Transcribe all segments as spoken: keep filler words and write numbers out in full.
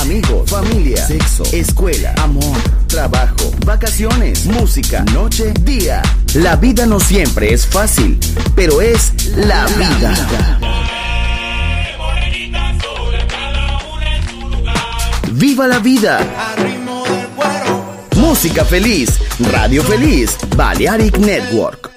amigos, familia, sexo, escuela, amor, trabajo, vacaciones, música, noche, día. La vida no siempre es fácil, pero es la vida. ¡Viva la vida! Música feliz, radio feliz, Balearic Network.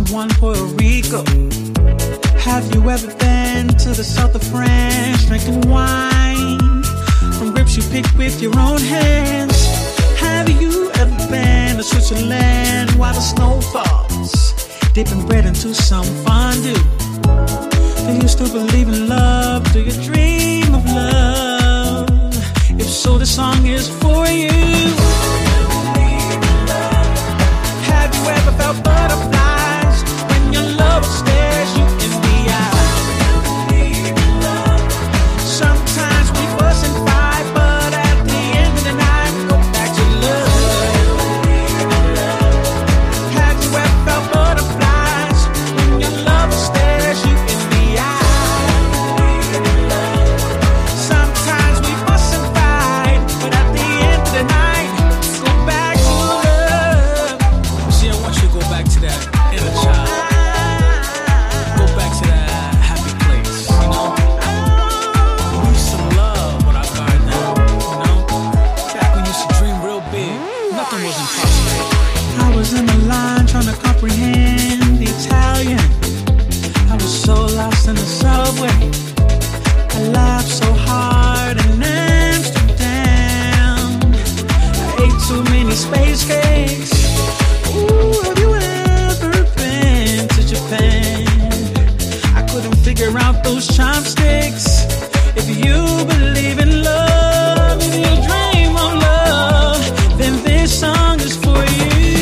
one Puerto Rico? Have you ever been to the south of France, drinking wine from grapes you picked with your own hands? Have you ever been to Switzerland while the snow falls, dipping bread into some fondue? Do you still believe in love? Do you dream of love? If so, this song is for you. Have you ever felt butterflies when your lover stares you in the eye? Sometimes we fuss and fight, but at the end of the night we go back to love. Have you ever felt butterflies when your lover stares you in the eye? Sometimes we fuss and fight, but at the end of the night we go back to love. See, I want you to go back to that inner child. Go back to that happy place, you know? We used to love what I got now, you know? Back when you used to dream real big, nothing was impossible. I was in the line trying to comprehend the Italian. I was so lost in the subway. I laughed so hard in Amsterdam. I ate too many space cakes. Ooh, have you ever been to Japan? I couldn't figure out those chopsticks. If you believe in love, if you dream of love, then this song is for you.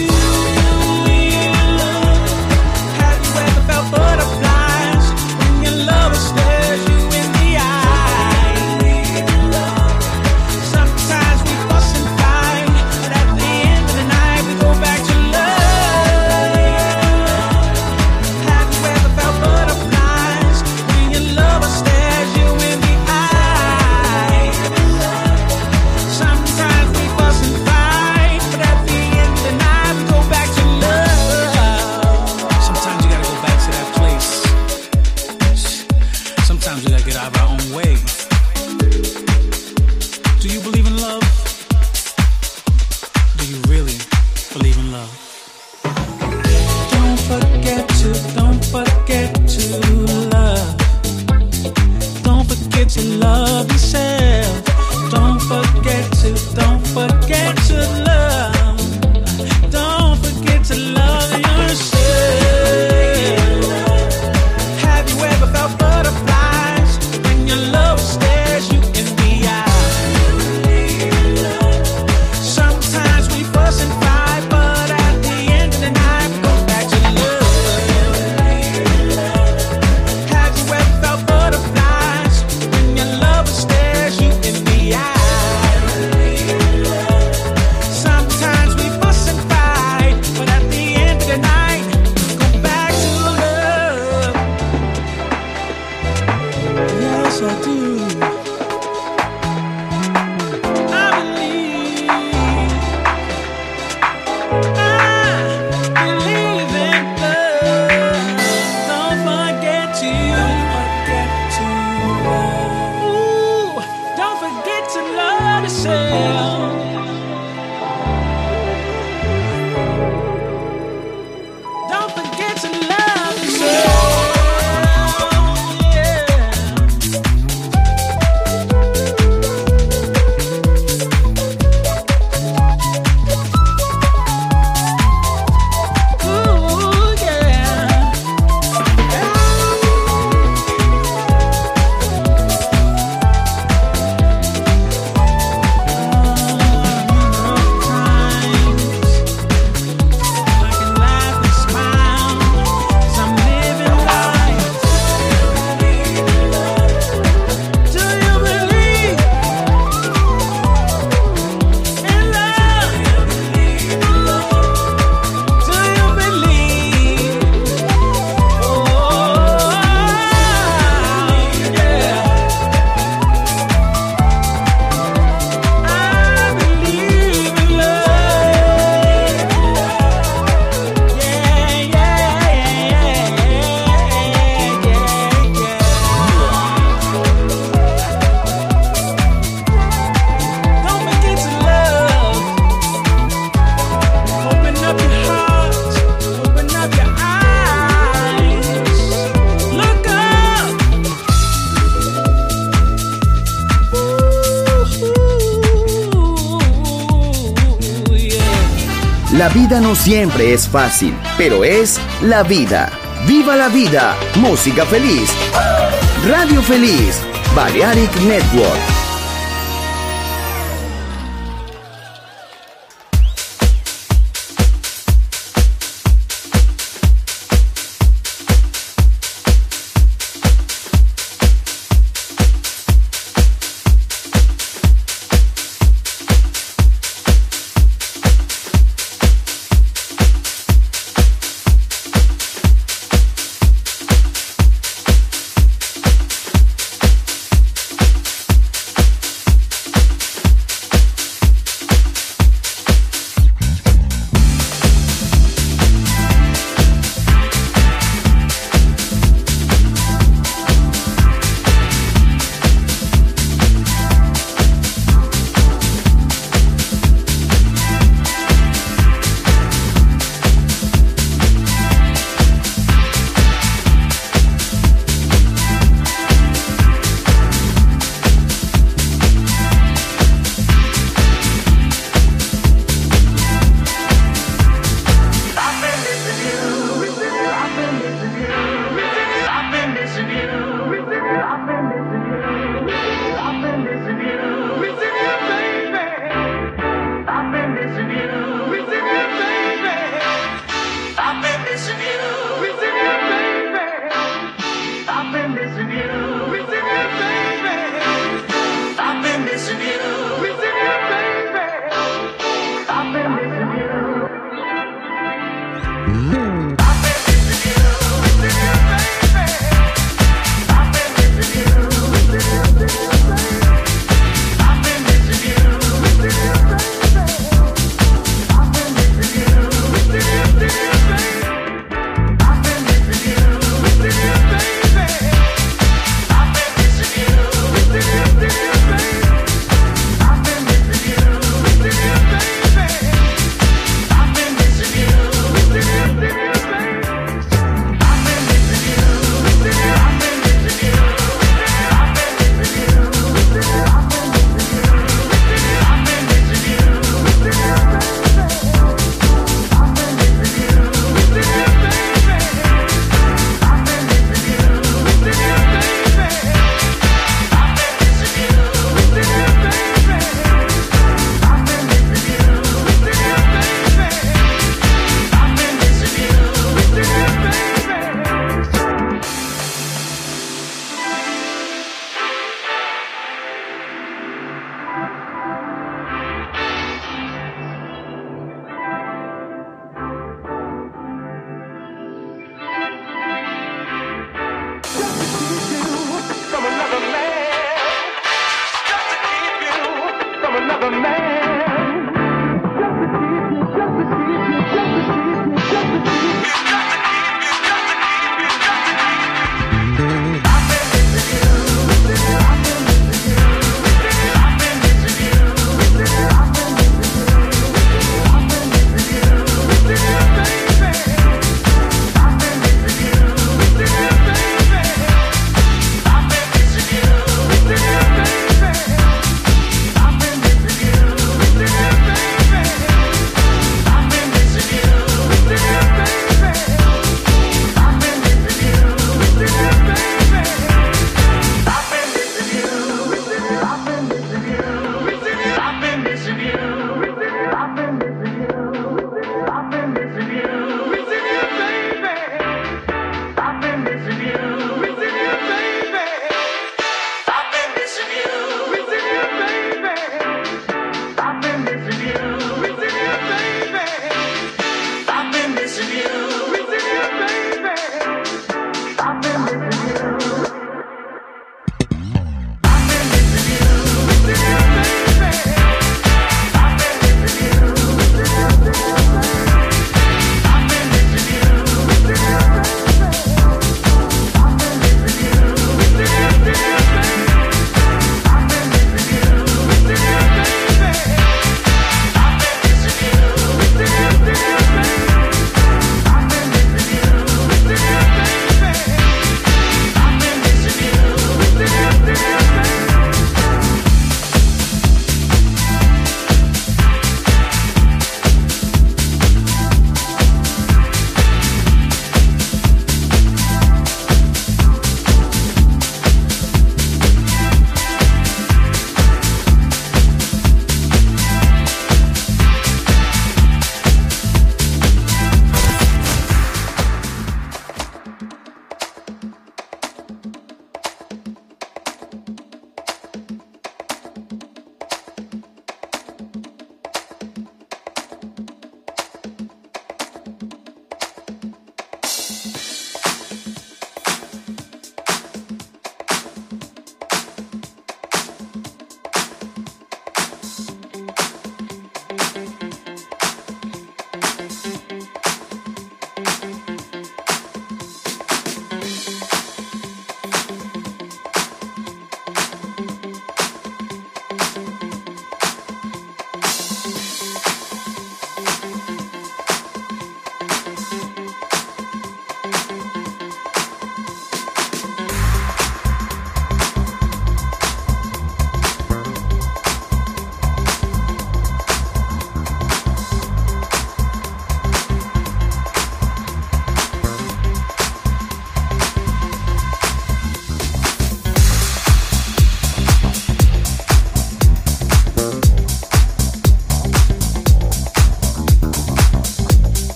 Have you ever felt butterflies when your lover stares you in the eye? Sometimes we fuss and fight, but at the end of the night we go back to love. Have you ever felt butterflies when your lover stares you in the eye? Sometimes we fuss and fight, but at the end of the night we go back to love. Sometimes you gotta go back to that place. Sometimes we gotta get out of our own way. Do you believe in love? Do you really believe in love? Don't forget to, don't forget to love. Don't forget to love yourself. Don't forget to, don't forget to love. Don't forget to love yourself. Have you ever felt butterflies when your love stares you in the eye? Sometimes we fuss and fight, but at the end of the night we go back to love. Have you ever felt butterflies when your love stares La vida no siempre es fácil, pero es la vida. ¡Viva la vida! Música feliz. Radio Feliz. Balearic Network.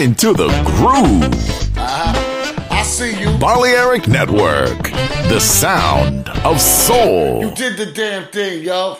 into the groove. Uh-huh. I see you. Balearic Network, the sound of soul. You did the damn thing, yo.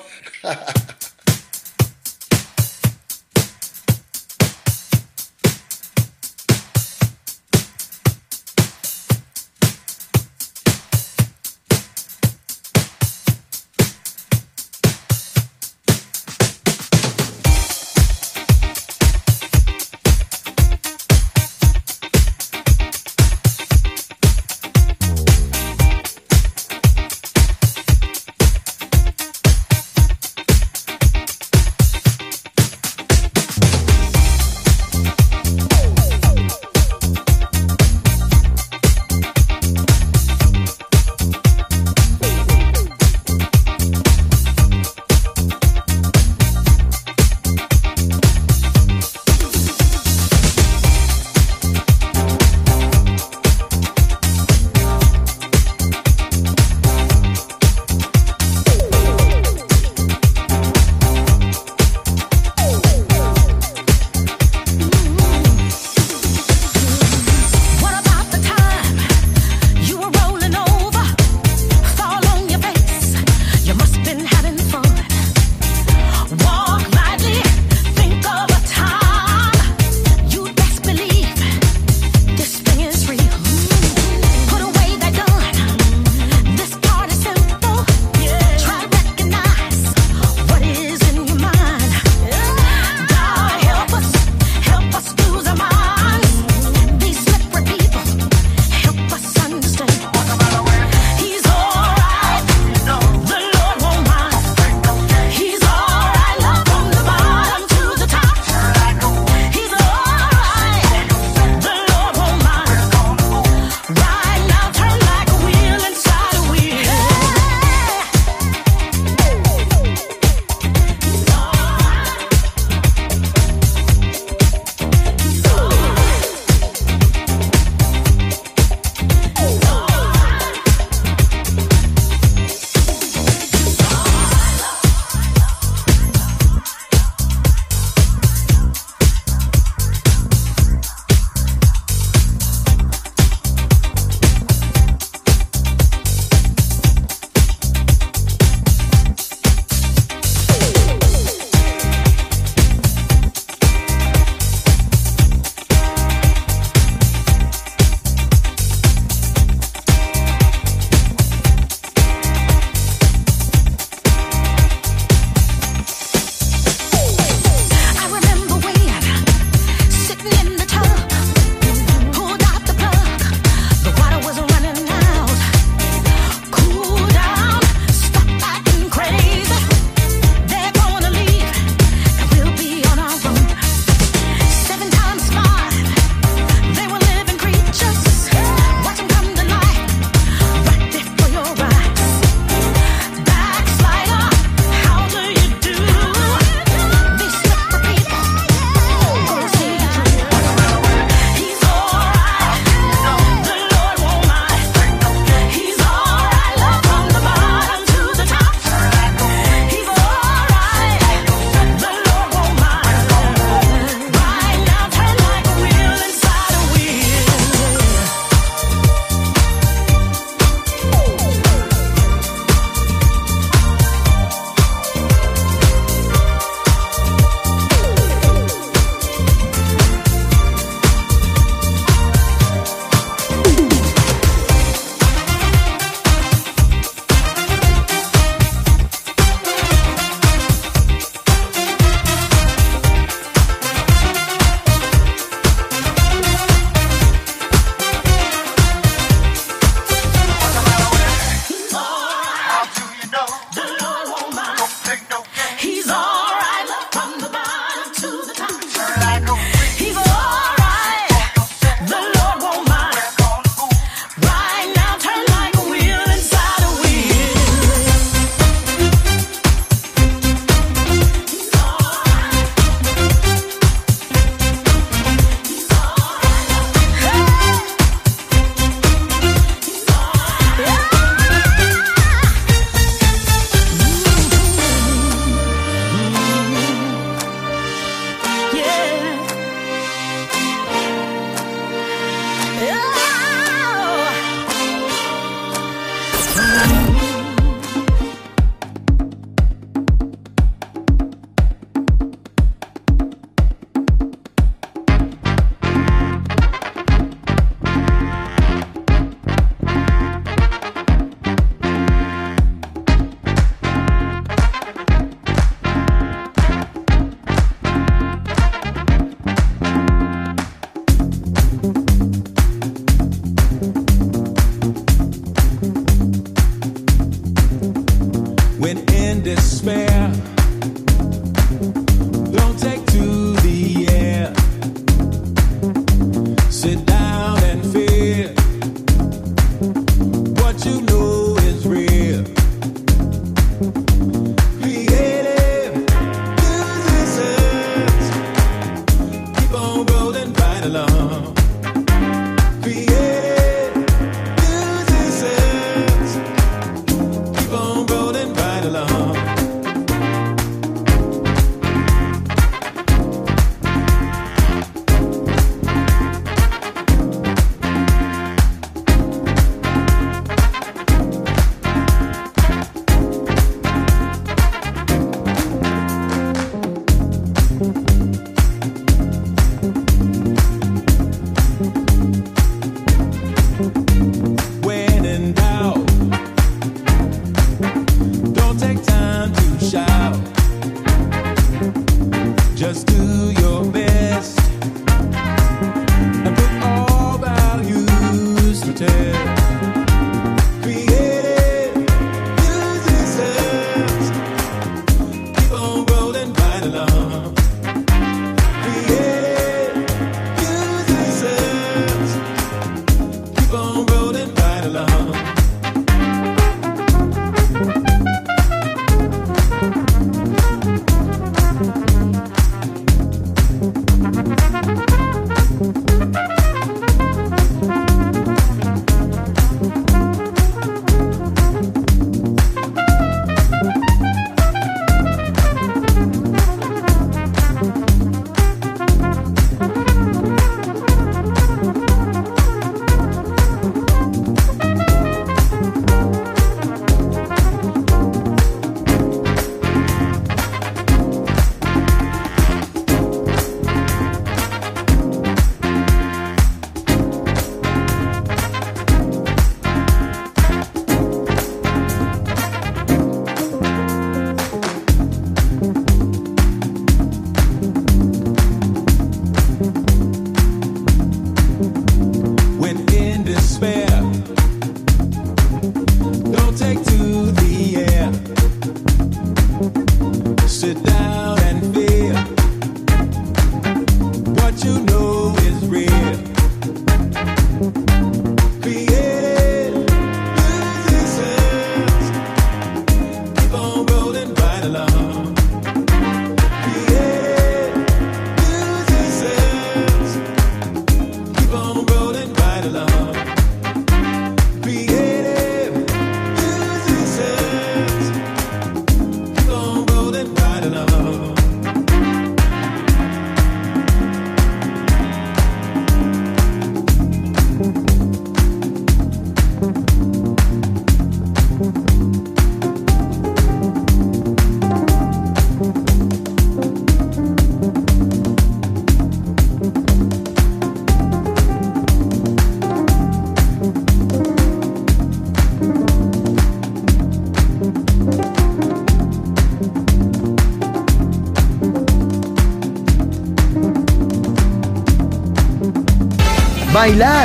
Bailar,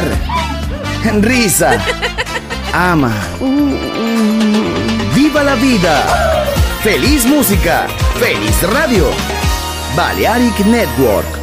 risa, ama, viva la vida, feliz música, feliz radio, Balearic Network.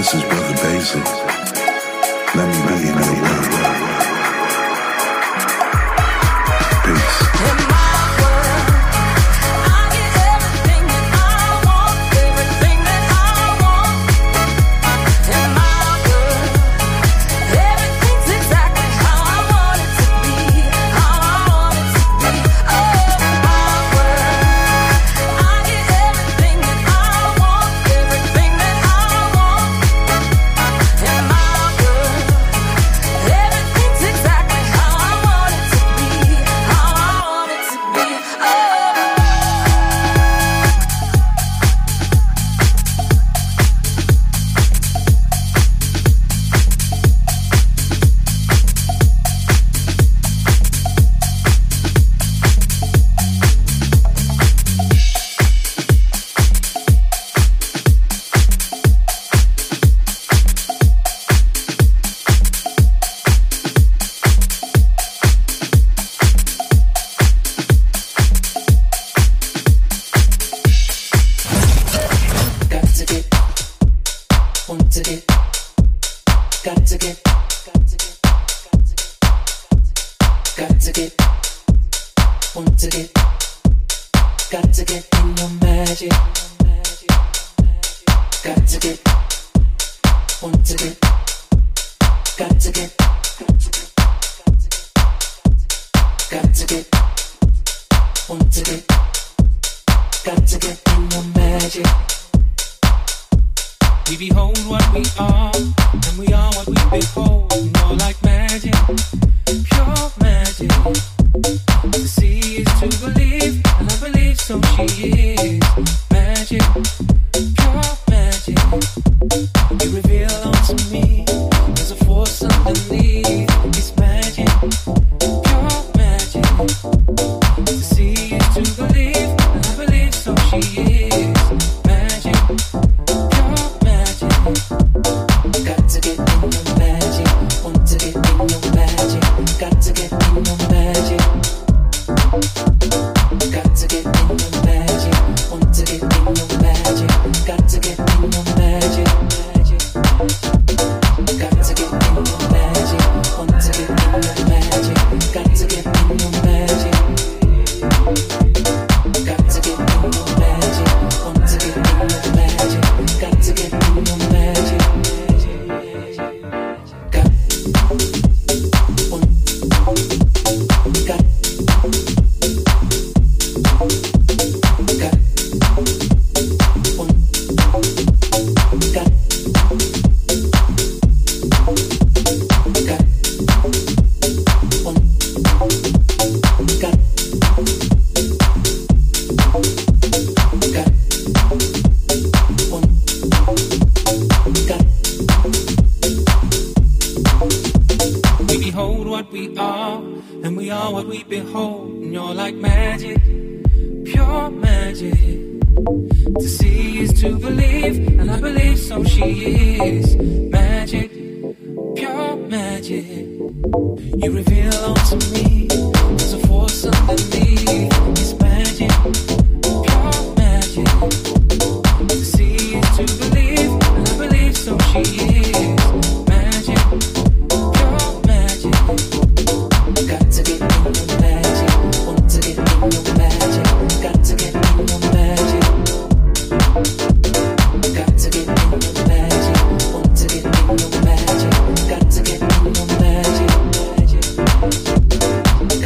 This is Brother Basil. Let me be in your world. Peace. In my world, I get everything that I want, everything that I want. In my world, everything's exactly how I want it to be, how I want it to be. Oh, in my world, I get everything that I want, everything that I want. In my world, everything's exactly how I want it to be, how I want it to be. Oh. Got to get, want to get, got to get, got to get, want to get, got to get in your magic. Got to get, want to get, got to get, got to get, want to get, got to get in your magic. We behold what we are, and we are what we behold. More like magic, pure magic. To see is to believe, and I believe so she is. Magic, pure magic. You reveal unto me, there's a force underneath. It's magic, pure magic. To see is to believe, and I believe so she is. Magic, pure magic. Got to get in your magic, want to get in your magic. Got to get in your magic. Got to get in your magic, want to get in your magic. Got to get in your magic. Got to get in your magic, want to get in your magic. Got to get in your magic. Got to get in your magic, want to get in your magic. Got to get in your magic. Got, want, got, got, got, want, got, got, want, got, got, want, got. We behold what we are, and we are what we behold. And you're like magic, pure magic. To see is to believe, and I believe so she is. Magic, pure magic. You reveal unto me, there's a force underneath. It's magic, pure magic. To see is to believe, and I believe so she is. Magic, pure magic. Got to get in your magic, want to get in your magic. Got to get in your magic. Got to get in your magic, want to get in your magic. Got to get in your magic.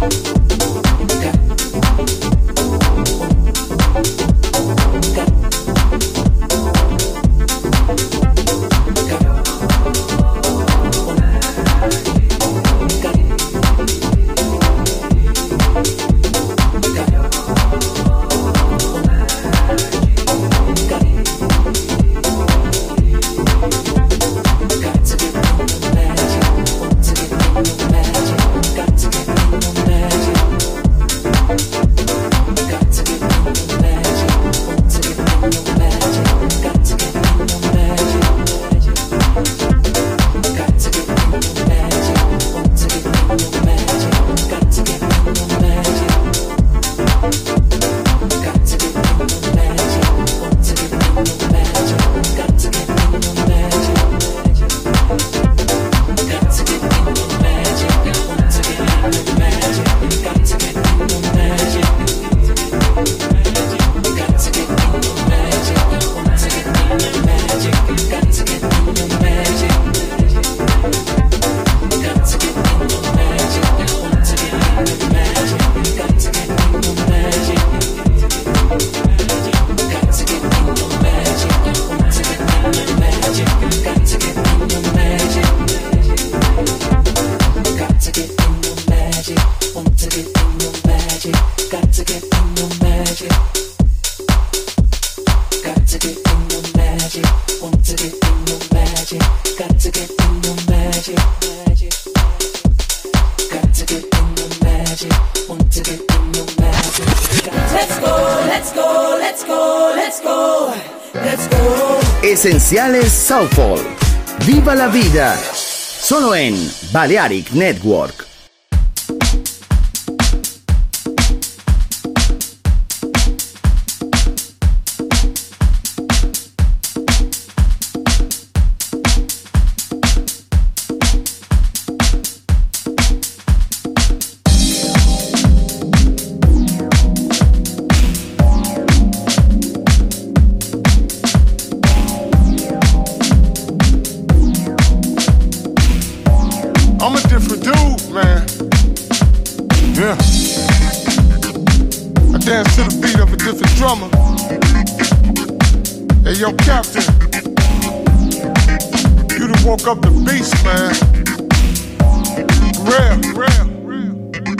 Esenciales Soulful. ¡Viva la vida! Solo en Balearic Network. Up the beast, man. Real, real, real.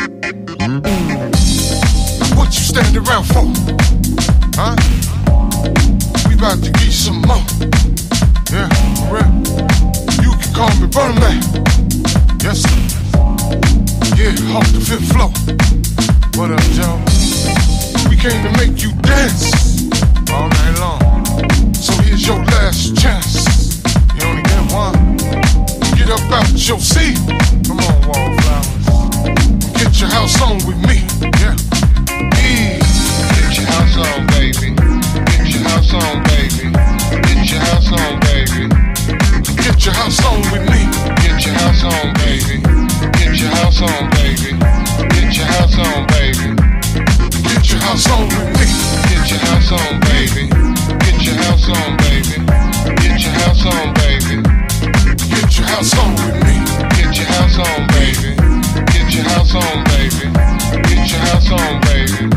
What you stand around for? Huh? We about to get some more. Yeah, real. You can call me Brother Man. Yes, sir. Yeah, off the fifth floor. What up, Joe? We came to make you dance all night long. So here's your last chance. You only get one. Get up out your seat. Come on, Wallflowers. Get your house on with me. Yeah. E. Get your house on, baby. Get your house on, baby. Get your house on, baby. Get your house on with me. Get your house on, baby. Get your house on, baby. Get your house on, baby. Get your house on with me. Get your house on, baby. Get your house on, baby. Get your house on, baby. Get your house on with me. Get your house on, baby. Get your house on, baby. Get your house on, baby.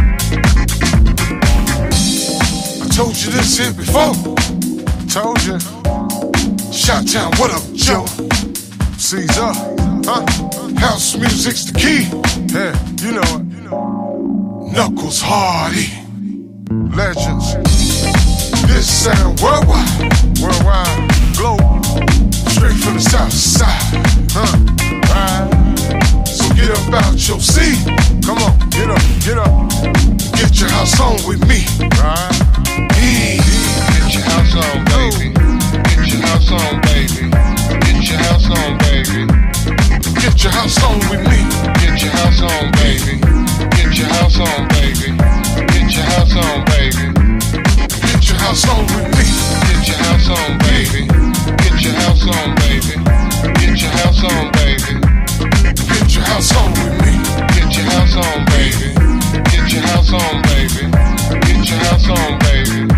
I told you this here before. Told you. Shot-town, what up, Joe? Caesar, huh? House music's the key. Yeah, you know it. Knuckles Hardy. Legends. This sound worldwide. Worldwide. Global. Straight from the south side. Huh? Right. So get up out your seat. Come on, get up, get up. Get your house on with me. Right. E. Get your house on, baby. Get your house on, baby. Get your house on, baby. Get your house on with me. Get your house on, baby. Get your house on, baby. Get your house on, baby. Get your house on with me. Get your house on, baby. Get your house on, baby. Get your house on, baby. Get your house on with me. Get your house on, baby. Get your house on, baby. Get your house on, baby.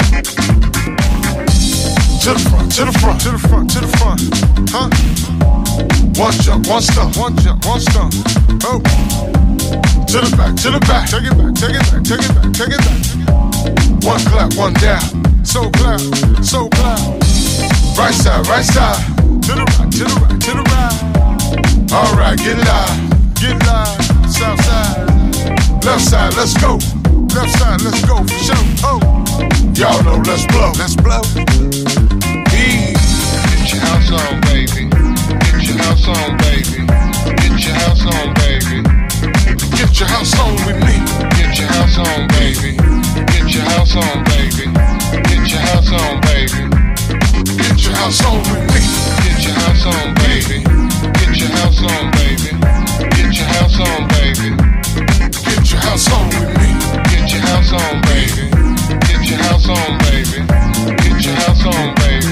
To the front, to the front, to the front, to the front. Huh? One jump, one stump, one jump, one stump. Oh. to the back, to the back. Take it back, take it back, take it back, take it back. One clap, one down. So clap, so clap. Right side, right side. To the right, to the right, to the right. All right, get live, get live. South side, left side, let's go. Left side, let's go for sure. Oh, y'all know, let's blow, let's blow. Ease. Get your house on, baby. Get your house on, baby. Get your house on, baby. Get your house on with me. Get your house on, baby. Get your house on, baby. Get your house on, baby. Get your house on with me. Get your house on, baby. Get your house on, baby. Get your house on, baby. Get your house on with me. Get your house on, baby. Get your house on, baby. Get your house on, baby.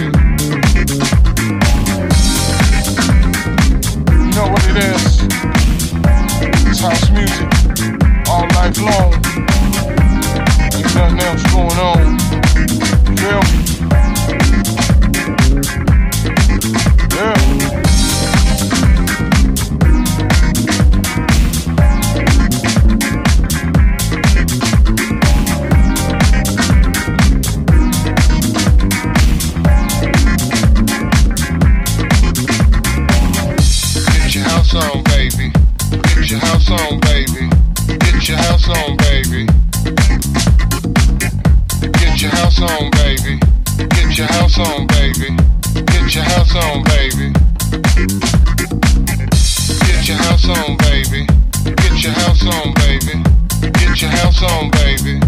You know what it is? It's house music all night long. Ain't nothing else going on. Feel me? Yeah. On, baby. Get your house on, baby. Get your house on, baby. Get your house on, baby. Get your house on, baby. Get your house on, baby. Get your house on, baby. Get your house on, baby. Get your house on, baby.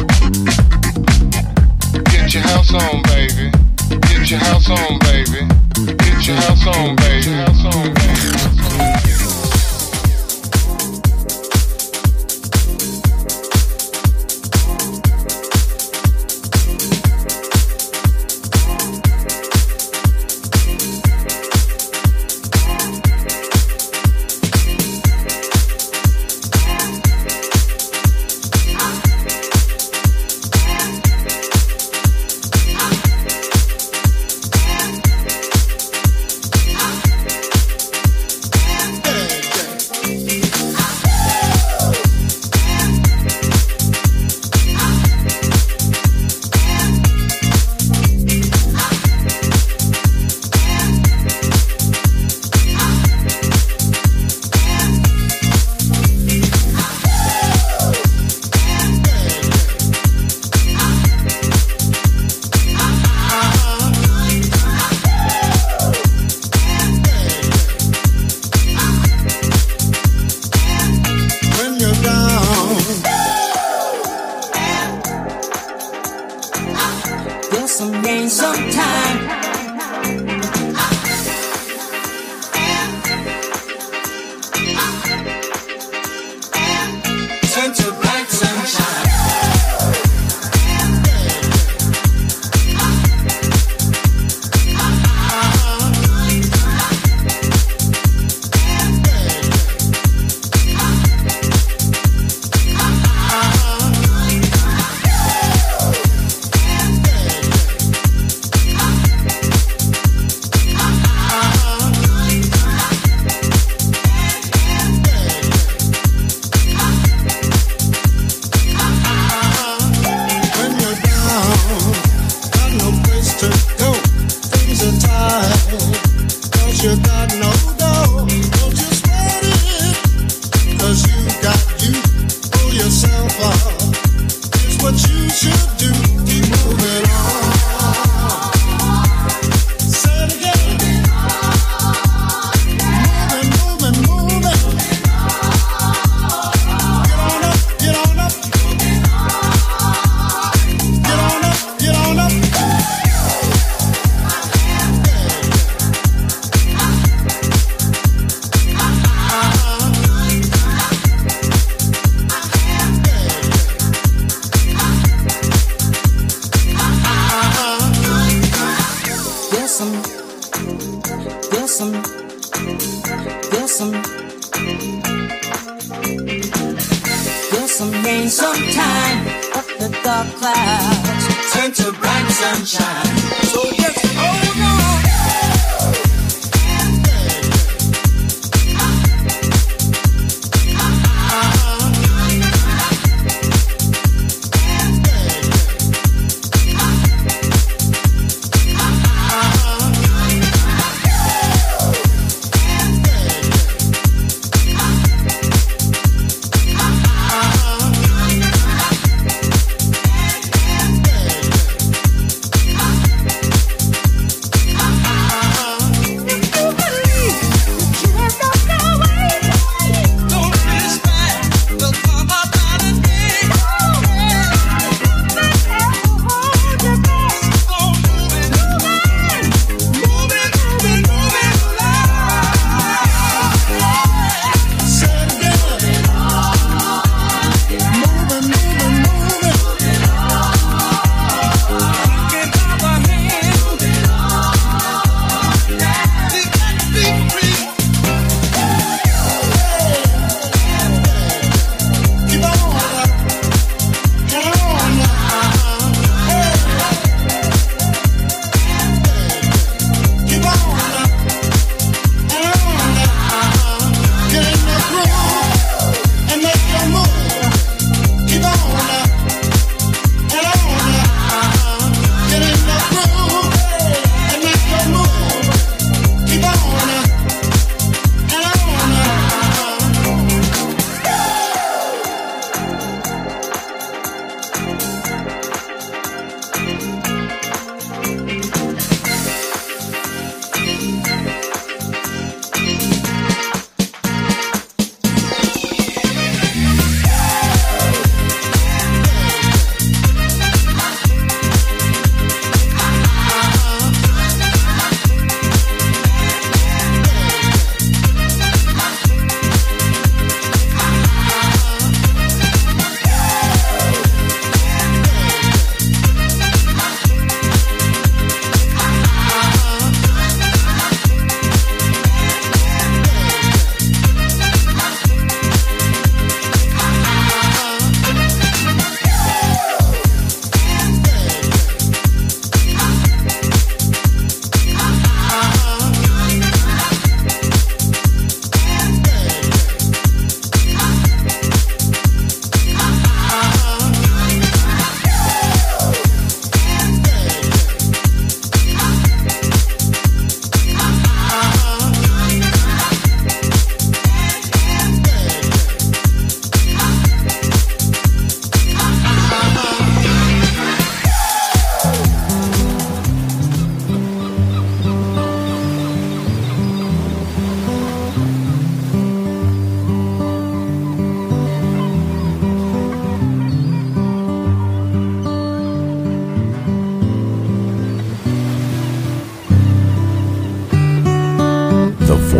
Get your house on, baby. Get your house on, baby. Get your house on, baby. House on, baby. Uh-huh.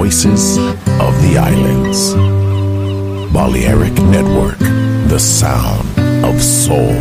voices of the islands. Balearic Network, the sound of soul.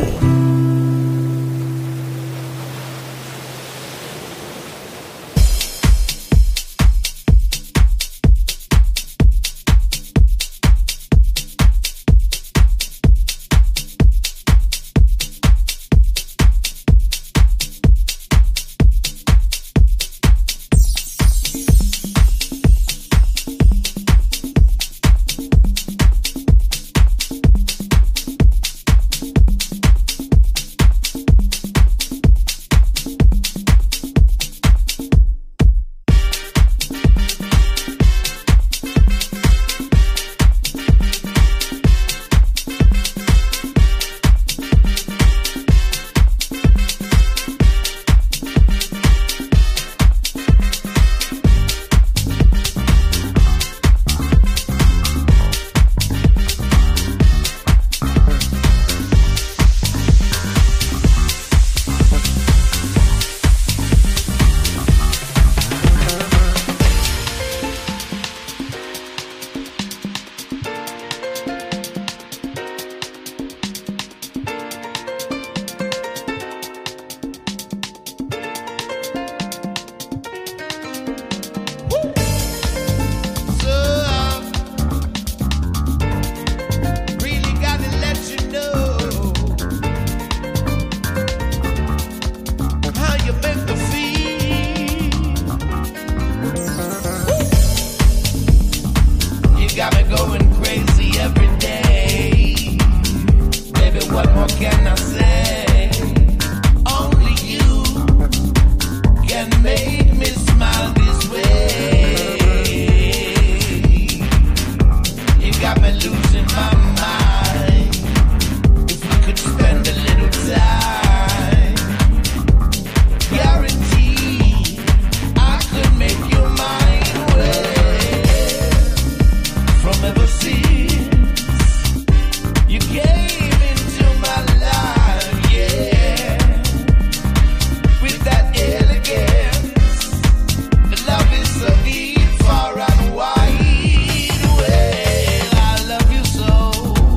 Far and wide, well, I love you so.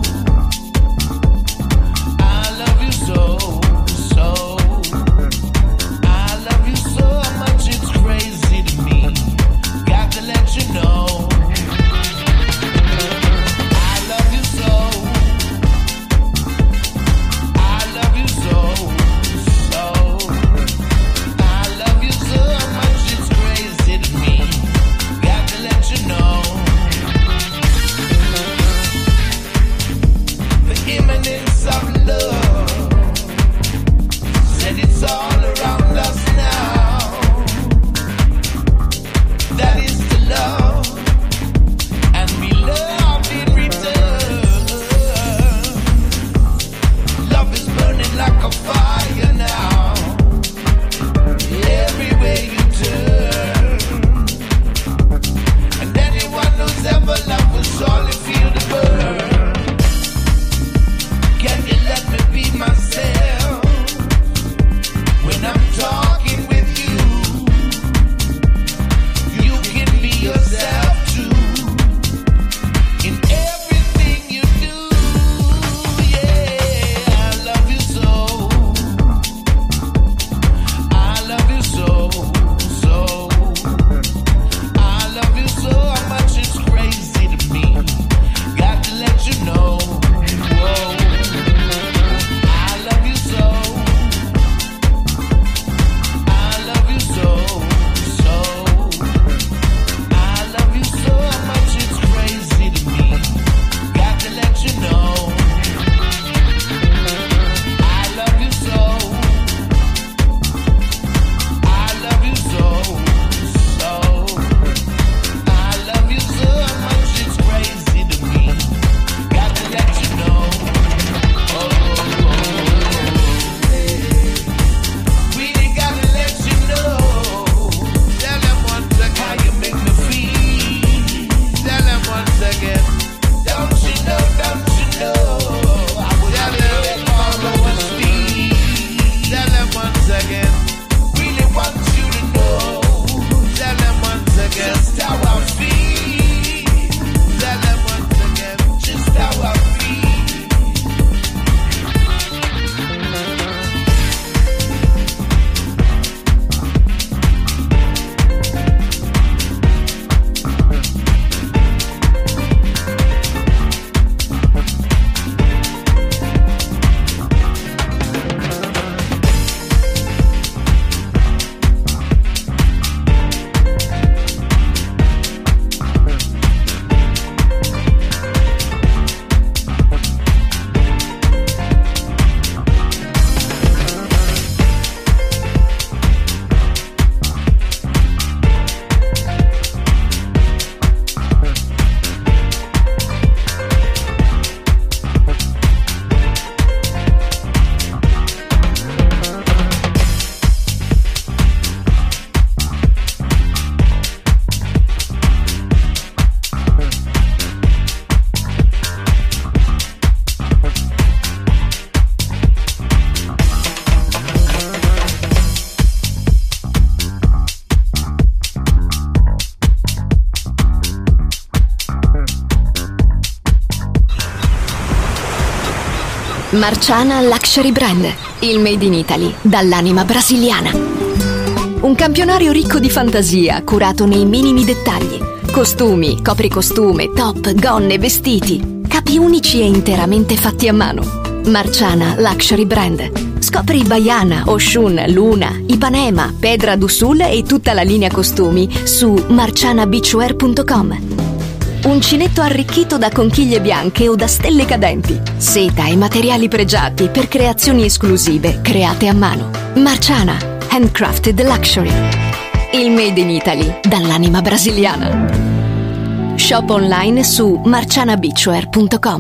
Marciana Luxury Brand, il made in Italy dall'anima brasiliana. Un campionario ricco di fantasia, curato nei minimi dettagli. Costumi, copricostume, top, gonne, vestiti. Capi unici e interamente fatti a mano. Marciana Luxury Brand. Scopri Baiana, Oshun, Luna, Ipanema, Pedra do Sul e tutta la linea costumi su marciana beachwear punto com. Uncinetto arricchito da conchiglie bianche o da stelle cadenti. Seta e materiali pregiati per creazioni esclusive create a mano. Marciana, handcrafted luxury. Il made in Italy dall'anima brasiliana. Shop online su marciana beachwear punto com.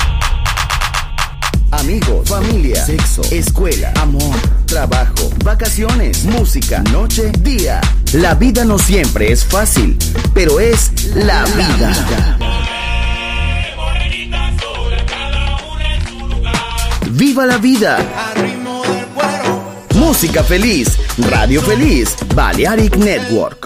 Amigos, familia, sexo, escuela, amor, trabajo, vacaciones, música, noche, día. La vida no siempre es fácil, pero es la vida. ¡Viva la vida! Música feliz, radio feliz, Balearic Network.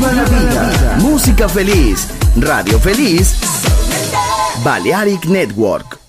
Viva la vida. Música feliz. Radio feliz. Balearic Network.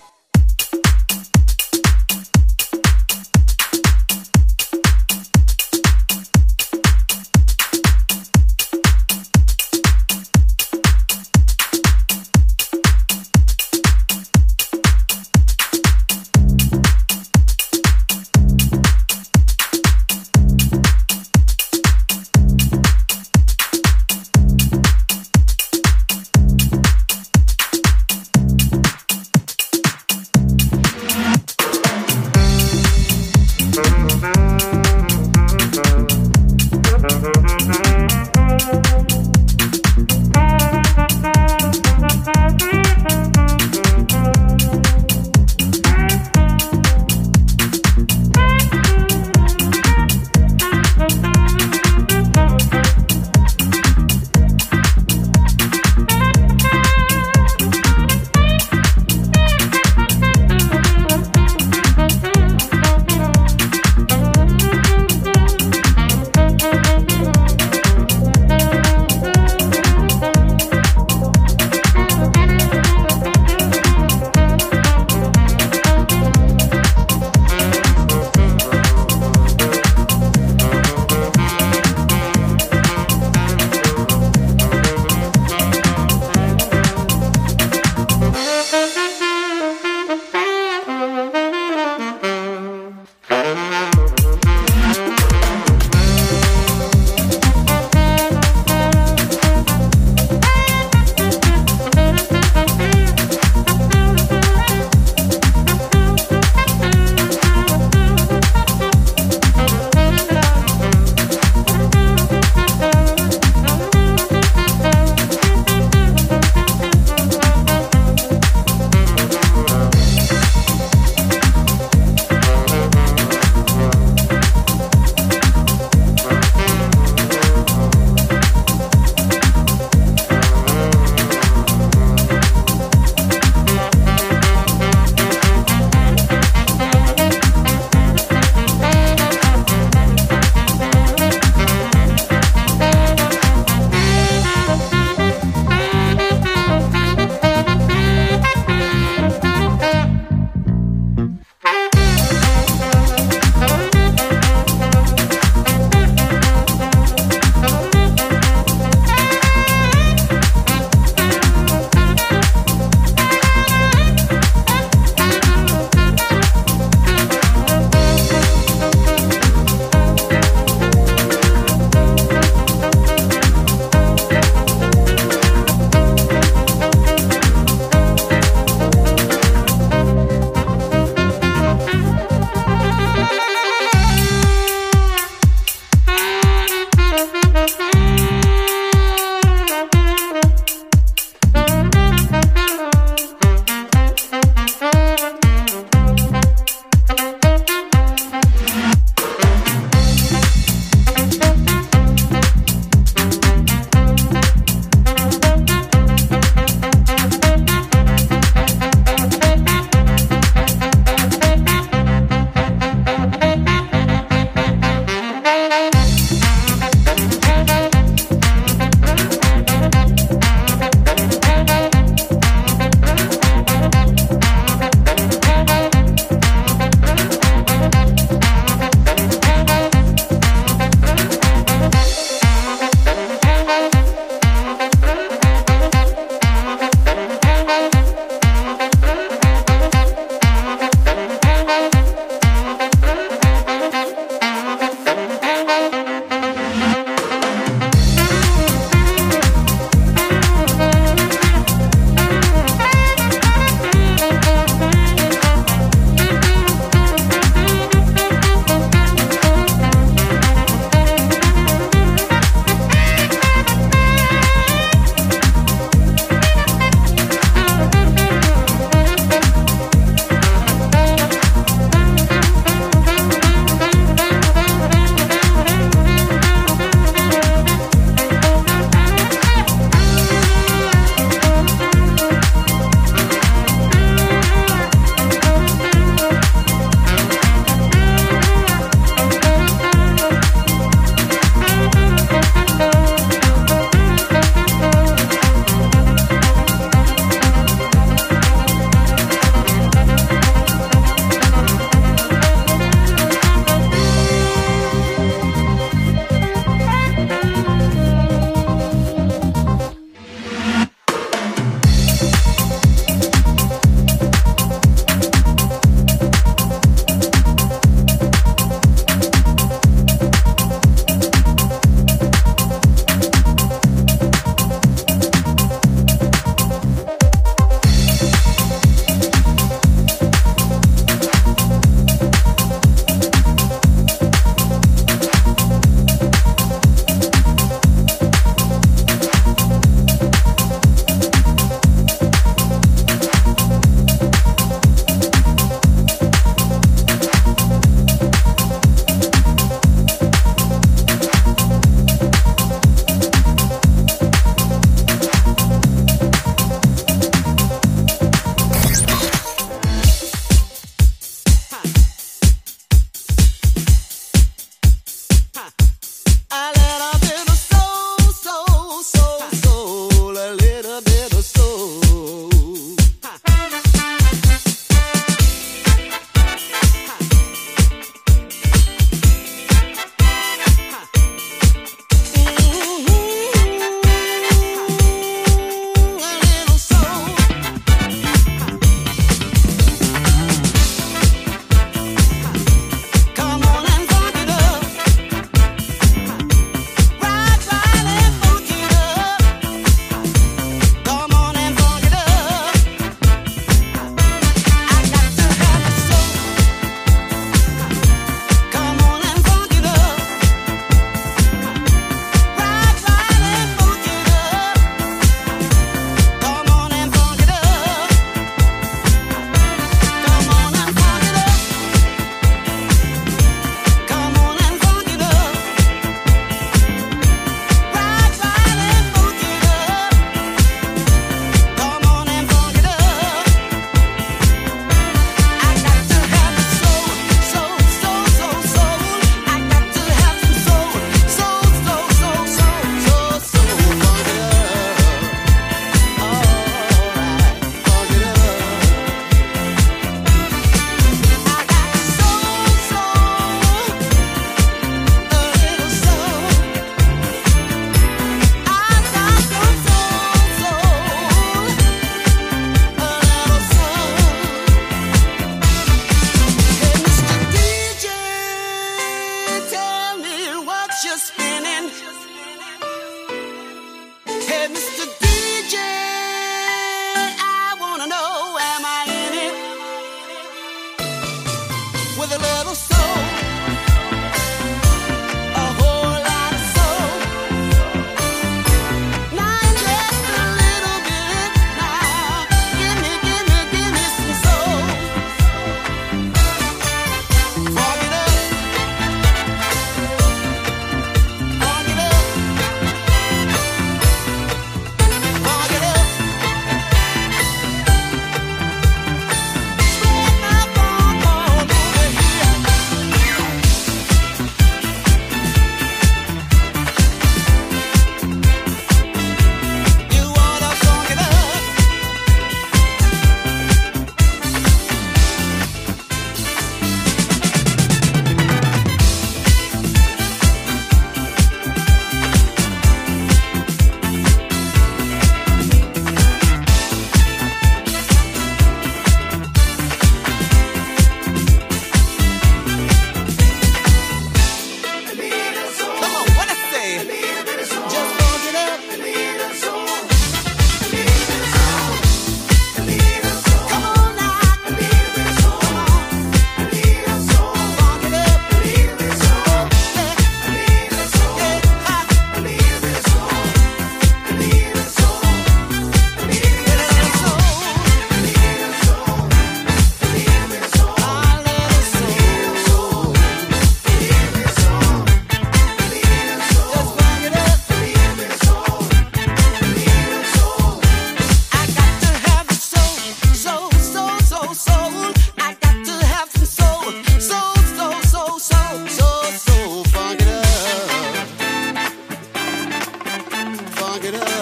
funk it up.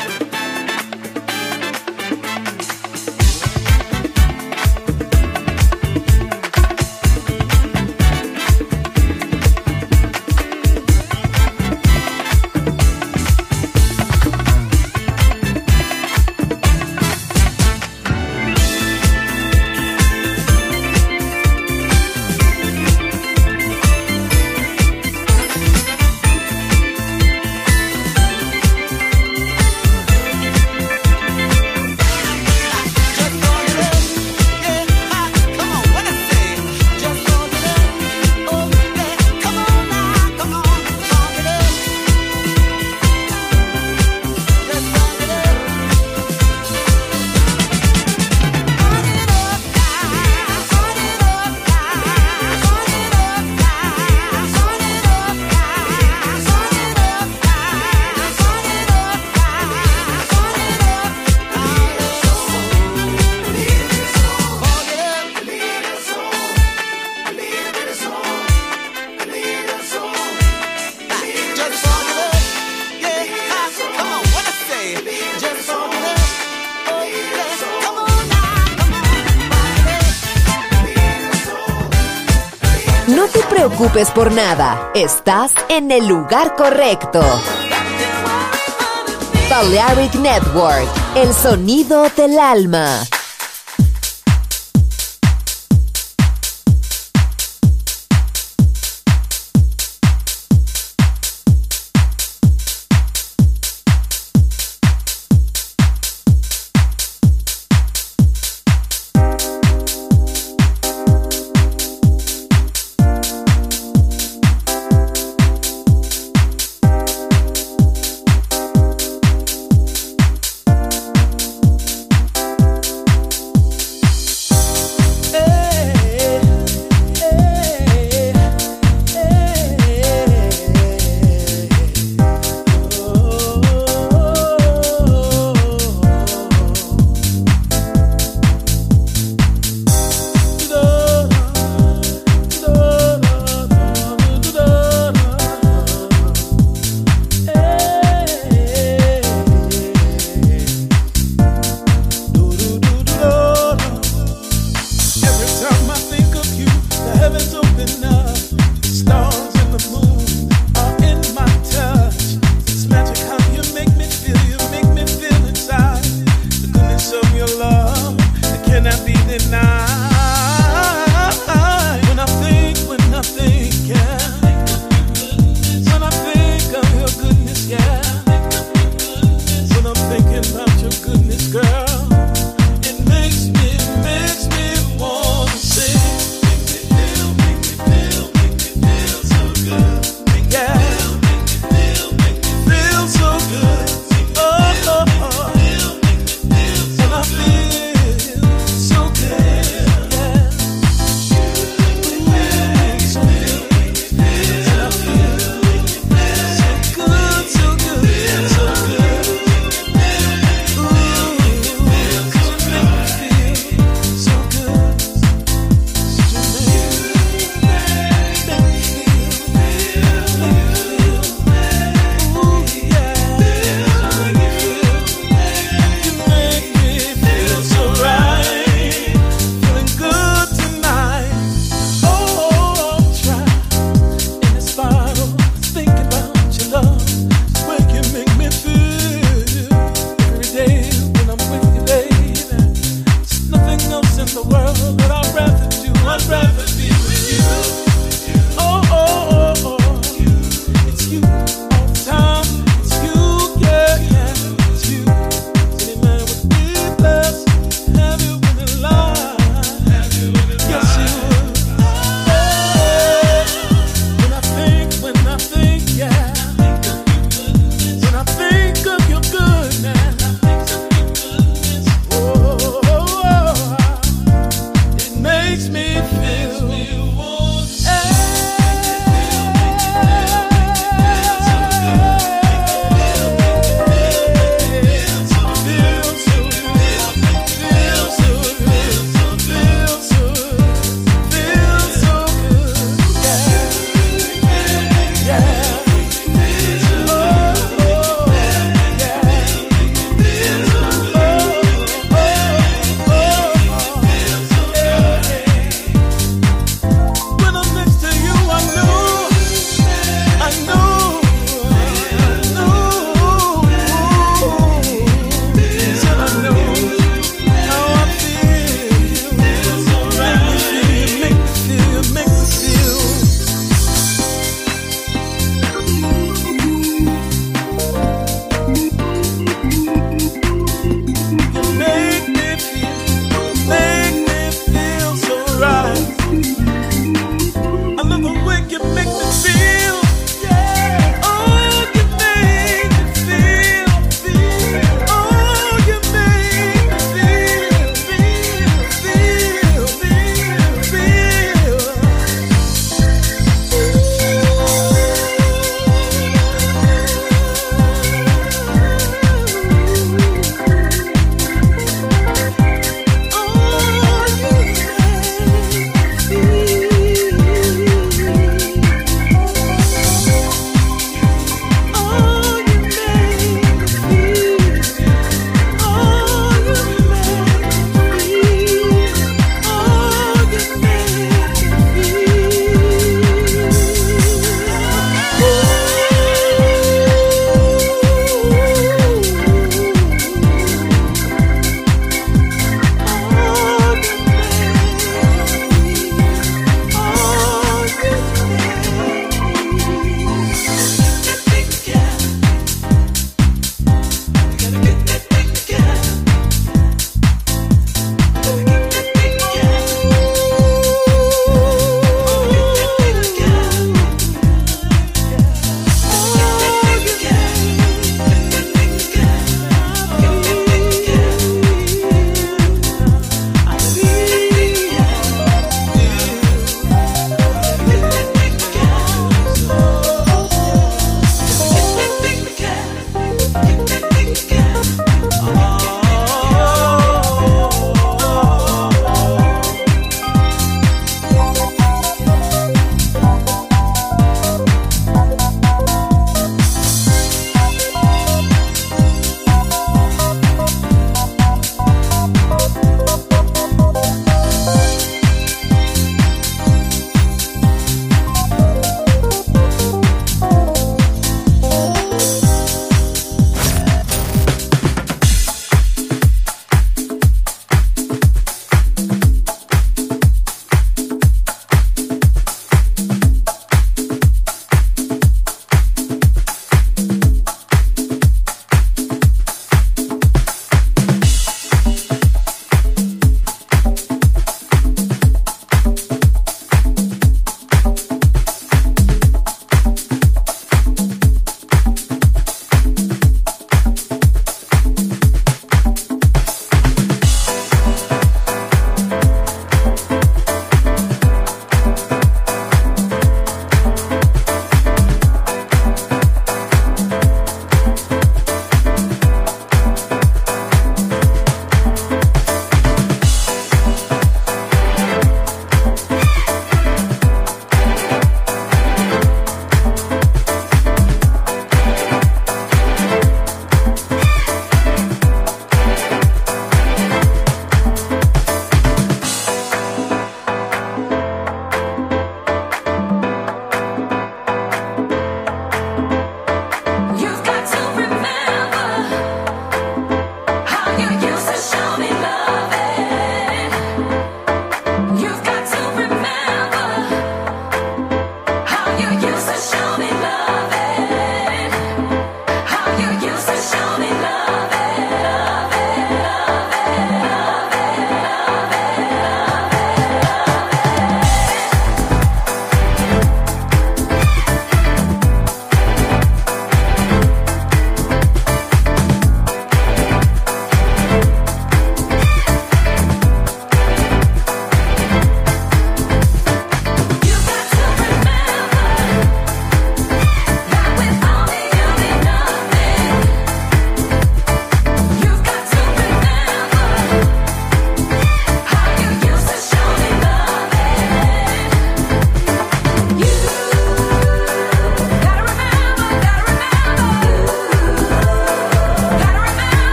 No te preocupes por nada, estás en el lugar correcto. Balearic Network, el sonido del alma.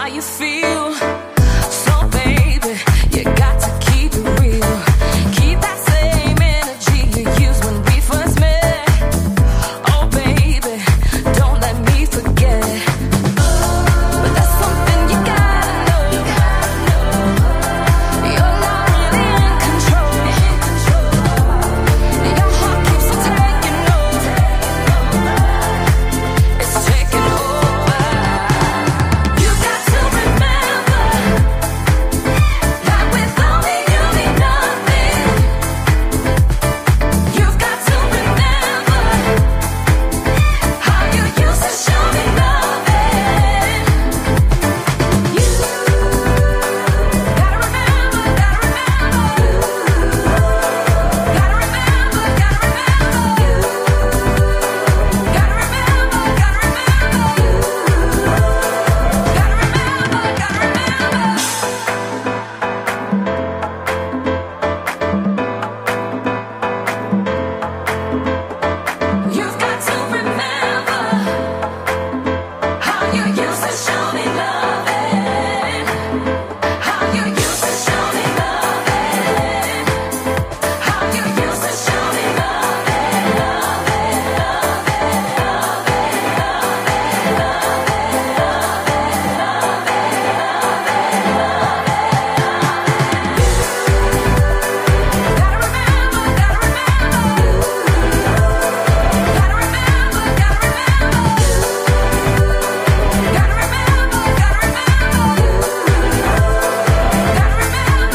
how you feel. So baby, you got to keep it real. Keep that same energy you used when we first met. Oh baby, don't let me forget. But there's something you gotta know. You're not really in control. Your heart keeps on taking over. It's taking over. You got to remember that with only you mean nothing. You've got to remember how you used to show me loving. You gotta remember, gotta remember. Gotta remember, gotta remember. Gotta remember, gotta remember. Gotta remember, gotta remember. You've got to remember how you used to show me loving. How you used to show me loving. How you used to show me loving, loving, loving, loving, gotta remember, gotta remember. Gotta remember, gotta remember. Gotta remember, gotta remember. Gotta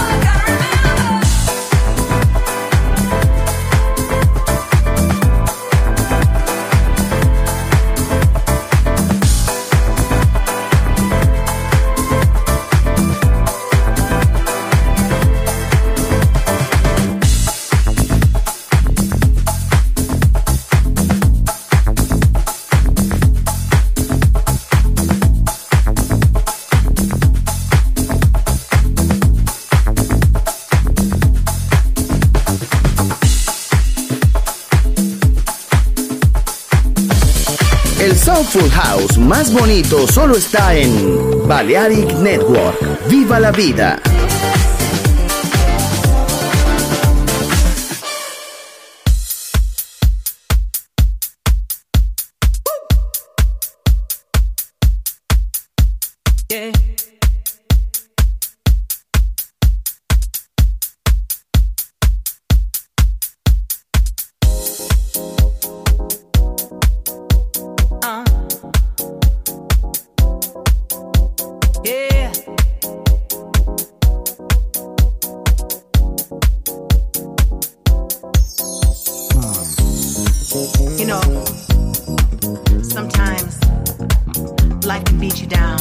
El Soulful House más bonito solo está en Balearic Network. ¡Viva la vida! Yeah. Uh. Yeah. You know, sometimes life can beat you down.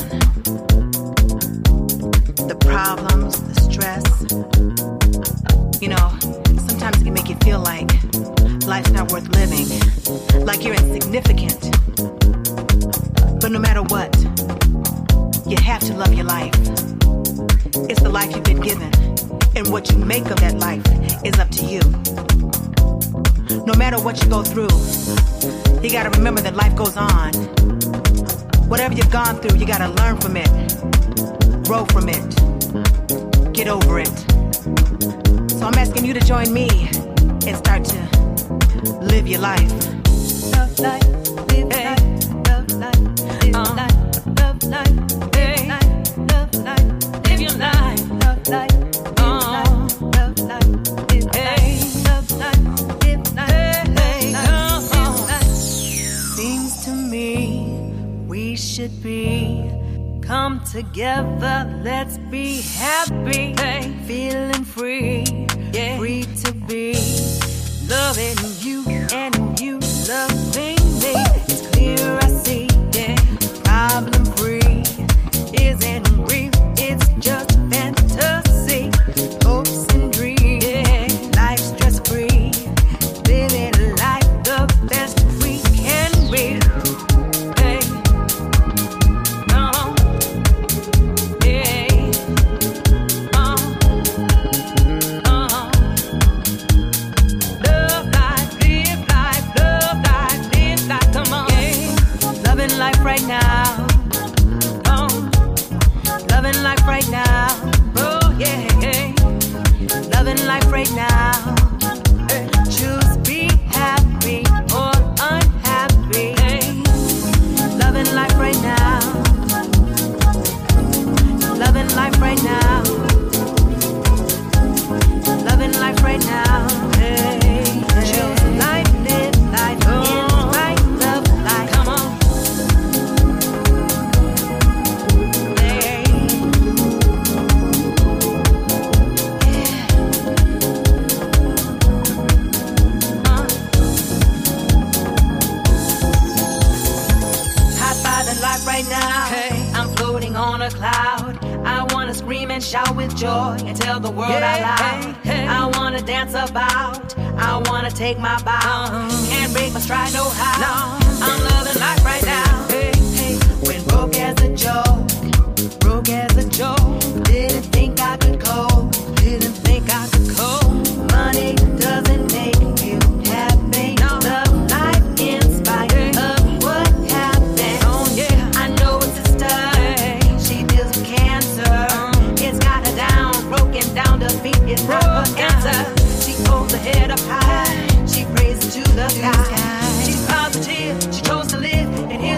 The problems, the stress. You know, sometimes it can make you feel like life's not worth living, like you're insignificant. But no matter what, you have to love your life. It's the life you've been given, and what you make of that life is up to you. No matter what you go through, you gotta remember that life goes on. Whatever you've gone through, you gotta learn from it, grow from it, get over it. So I'm asking you to join me and start to live your life. Love life, live life, love life, live life, love life, live life, love life, live your life, love life, love life, live life, love life, live life. Seems to me we should be come together, let's be happy, hey. Feeling free, yeah. Free to be loving you and you loving me. It's clear I see, yeah. Problem free isn't real, it's just fantasy. Hopes and dreams, yeah. Life stress free, living life the best we can be. Hey. No. Yeah. Uh. Uh. Love life, live life, love life, live life. Come on, yeah. Loving life right now. Oh. Loving life right now. Oh yeah. Loving life right now. Choose be happy or unhappy. Loving life right now. Loving life right now. Loving life right now. Choose life, live life, in right, love life. Come on. Hey. Yeah. Uh. Hot by the light right now. Hey. I'm floating on a cloud. I wanna scream and shout with joy and tell the world yeah, out loud. Hey, hey. I wanna dance about. I wanna take my bow. Uh-huh. Can't break my stride, no how. No. I'm loving life right now. Hey, hey. When broke as a joke, broke as a joke. Didn't think I could cope. Didn't think I could cope. Money doesn't make you happy. No. Love life in spite hey. of what happened. Oh yeah. I know it's a stud. She deals with cancer. It's got her down, broken down, defeat is not her answer. She holds her head up high, she prays to the sky. She's positive, she chose to live, and here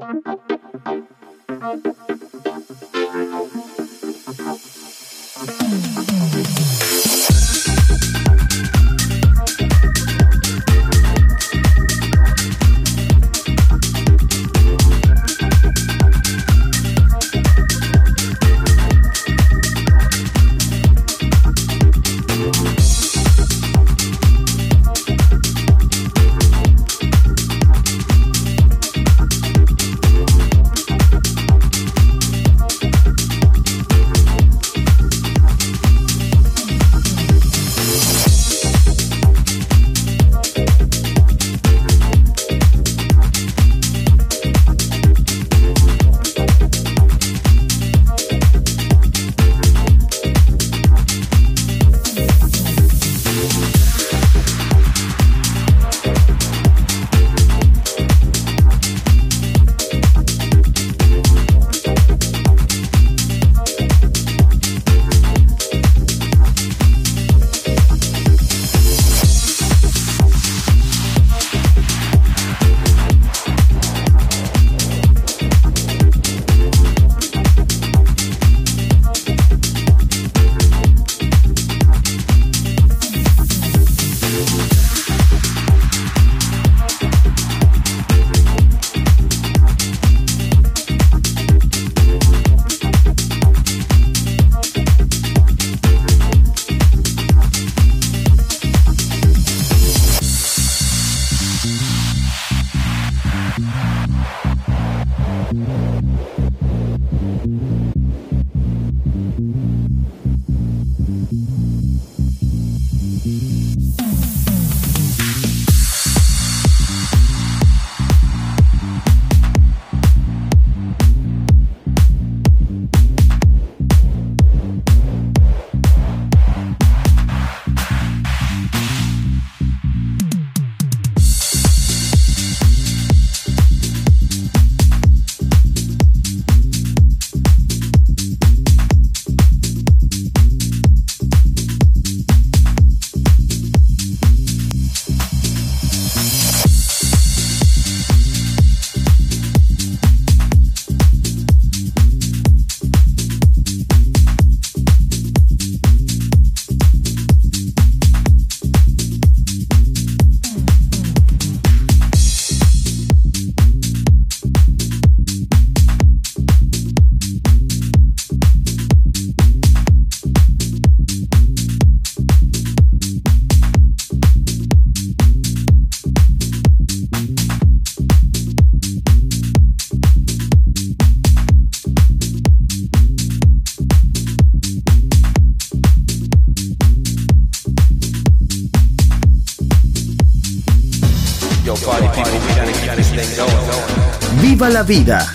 Viva la vida.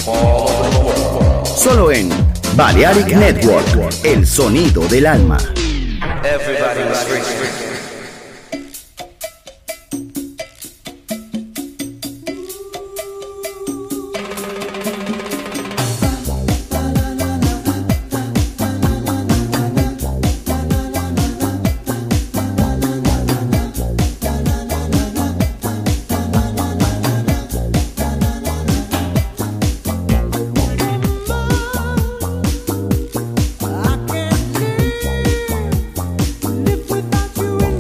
Solo en Balearic Network, el sonido del alma. Without you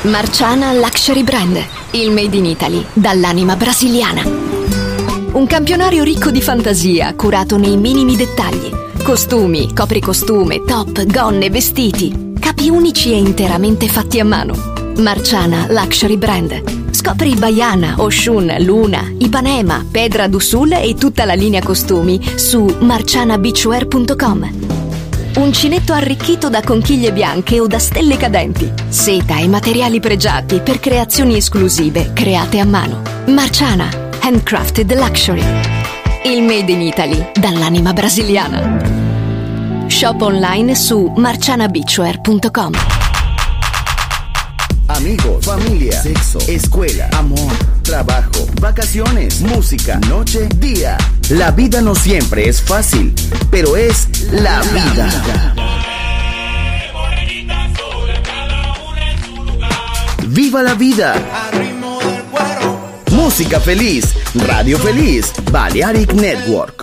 Marciana Luxury Brand, il made in Italy dall'anima brasiliana. Un campionario ricco di fantasia, curato nei minimi dettagli. Costumi, copricostume, top, gonne, vestiti. Capi unici e interamente fatti a mano. Marciana Luxury Brand. Scopri Baiana, Oshun, Luna, Ipanema, Pedra do Sul e tutta la linea costumi su marciana beachwear punto com. Uncinetto arricchito da conchiglie bianche o da stelle cadenti. Seta e materiali pregiati per creazioni esclusive create a mano. Marciana, handcrafted luxury. Il made in Italy dall'anima brasiliana. Shop online su marciana beachwear punto com. Amigos, familia, sexo, escuela, amor, trabajo, vacaciones, música, noche, día. La vida no siempre es fácil, pero es la vida. ¡Viva la vida! Música feliz, radio feliz, Balearic Network.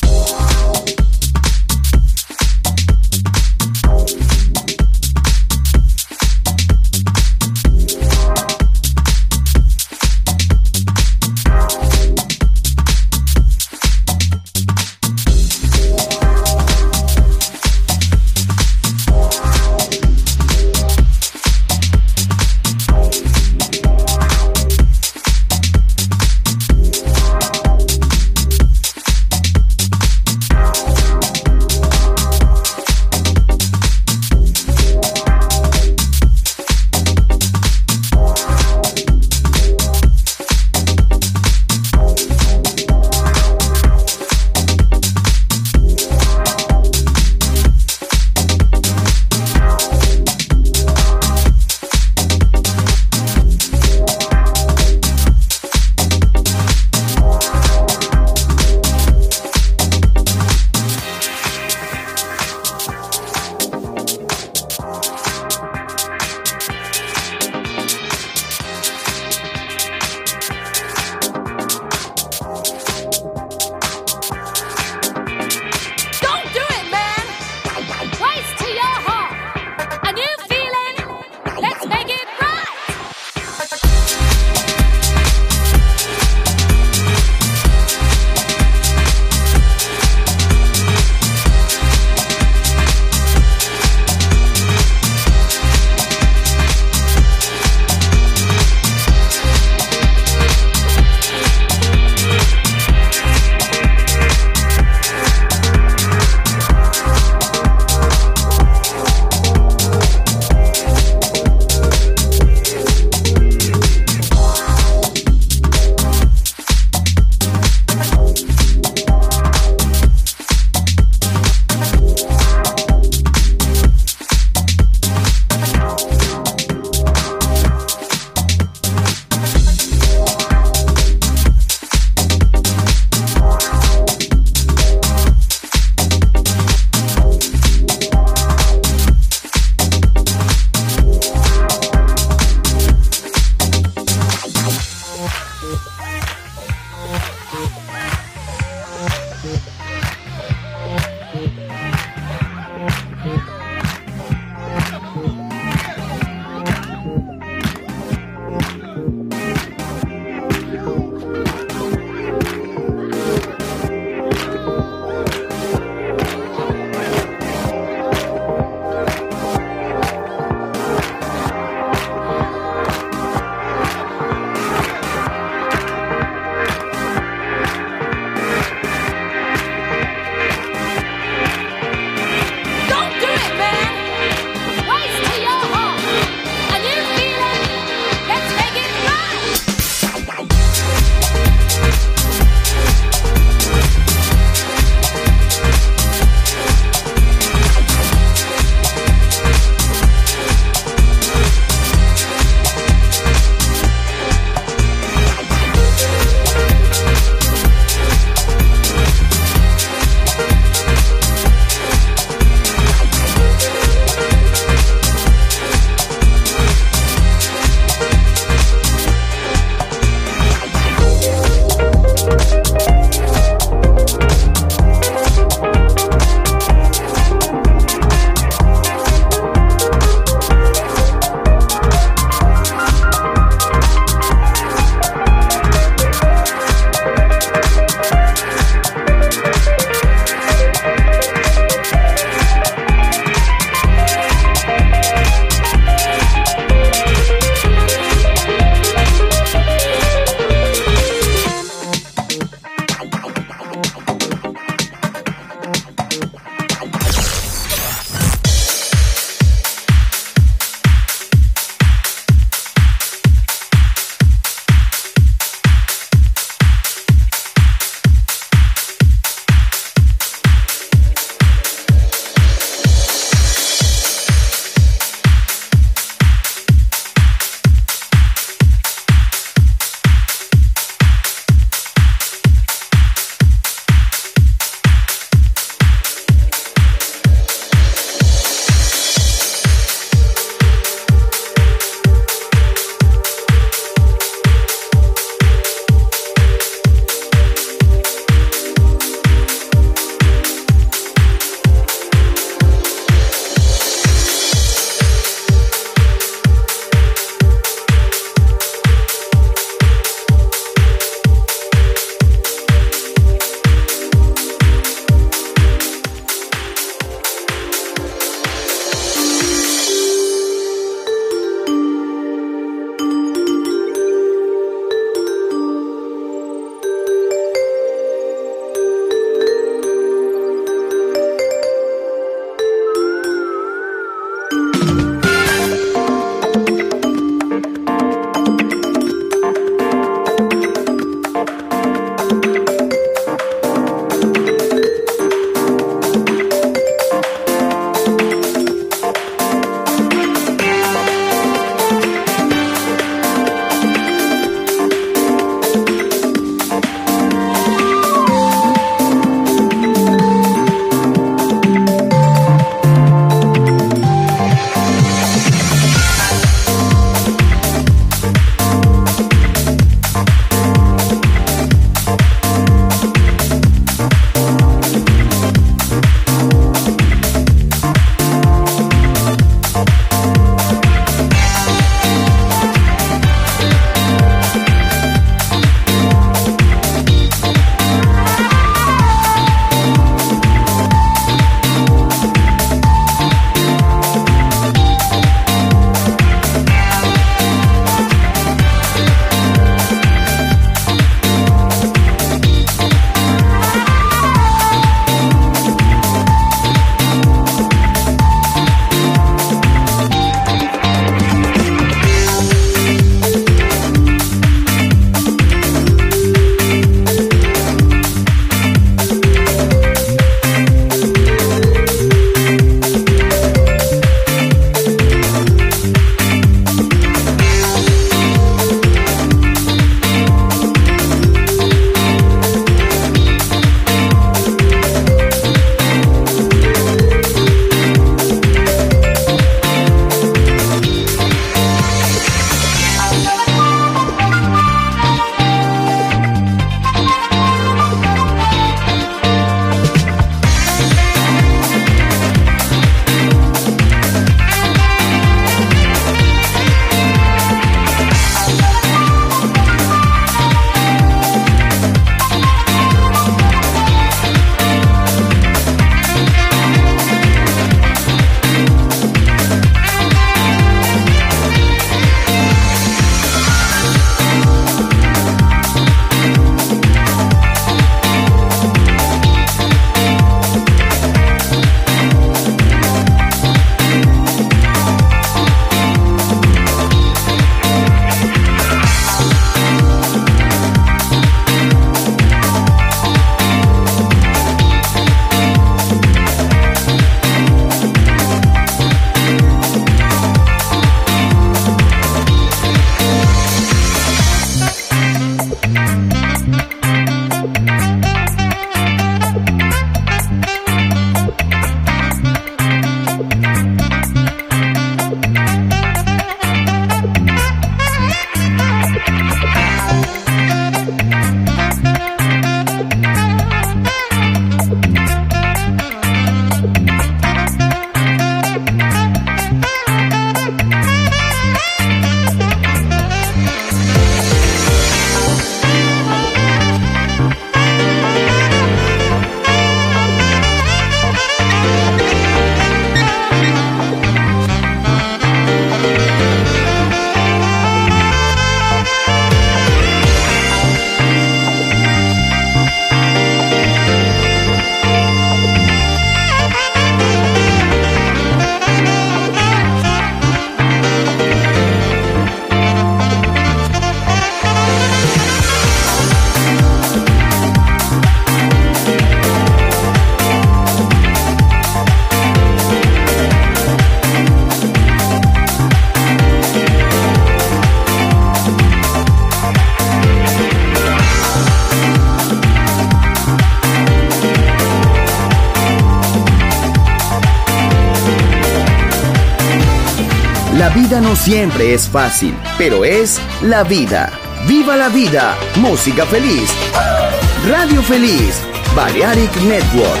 vida no siempre es fácil, pero es la vida. ¡Viva la vida! Música feliz. Radio Feliz. Balearic Network.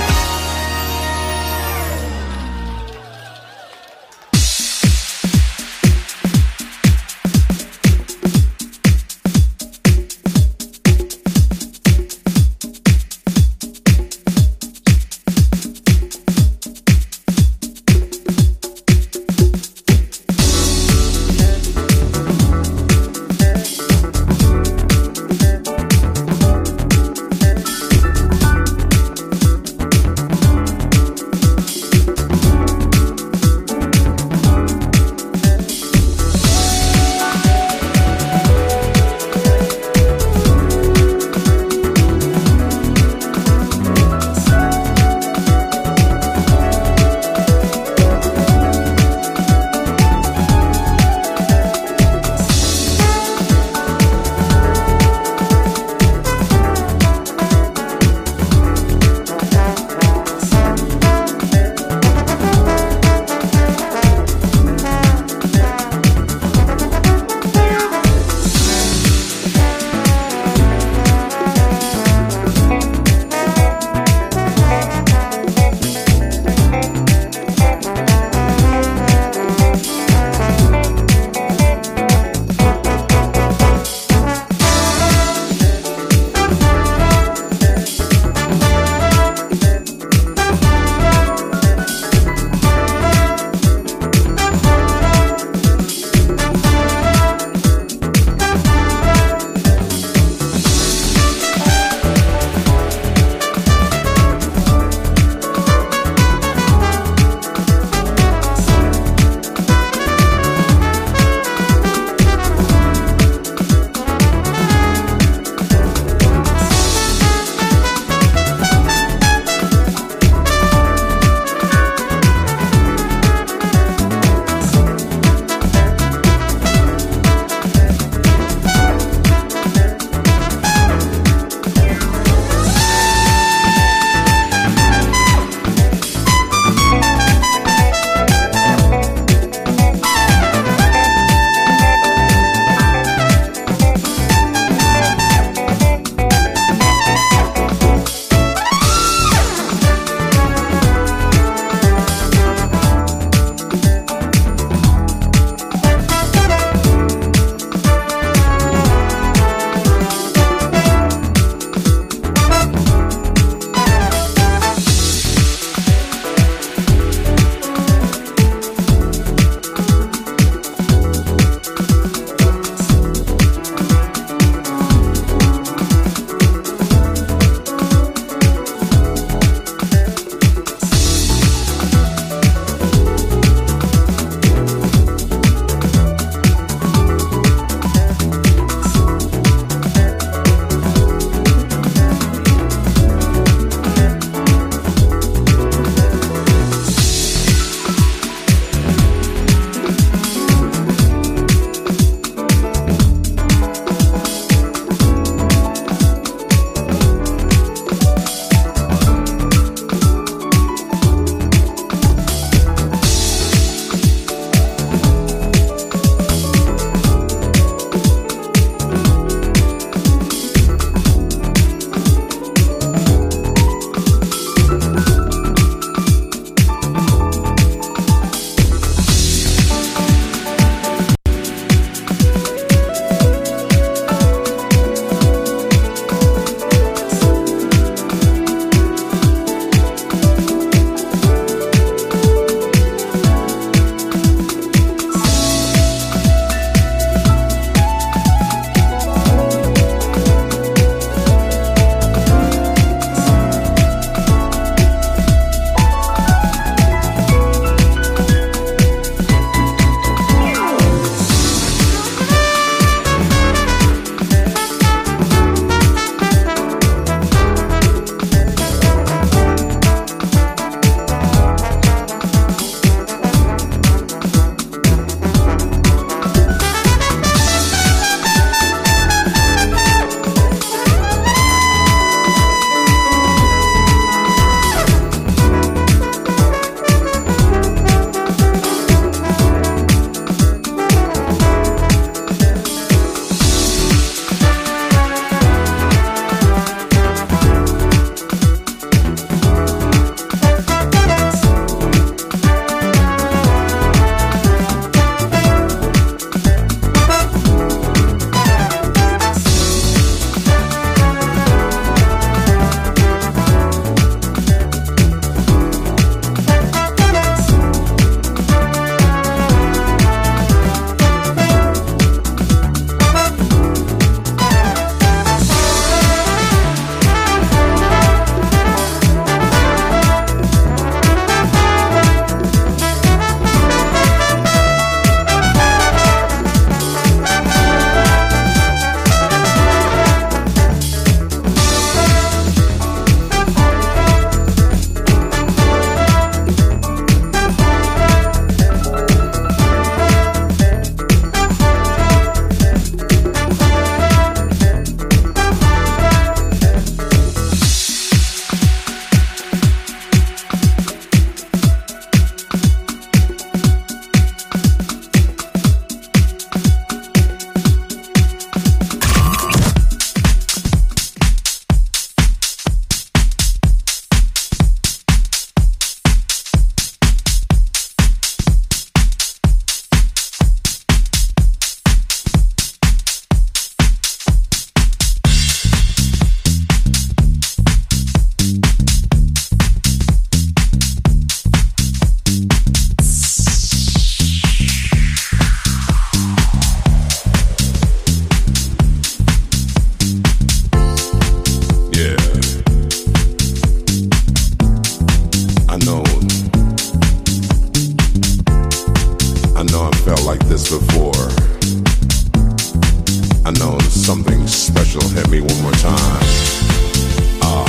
on. Oh.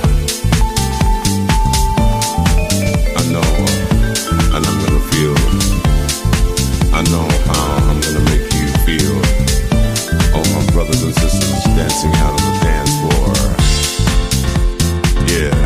I know, and I'm gonna feel. I know how I'm gonna make you feel. All my brothers and sisters dancing out on the dance floor. Yeah.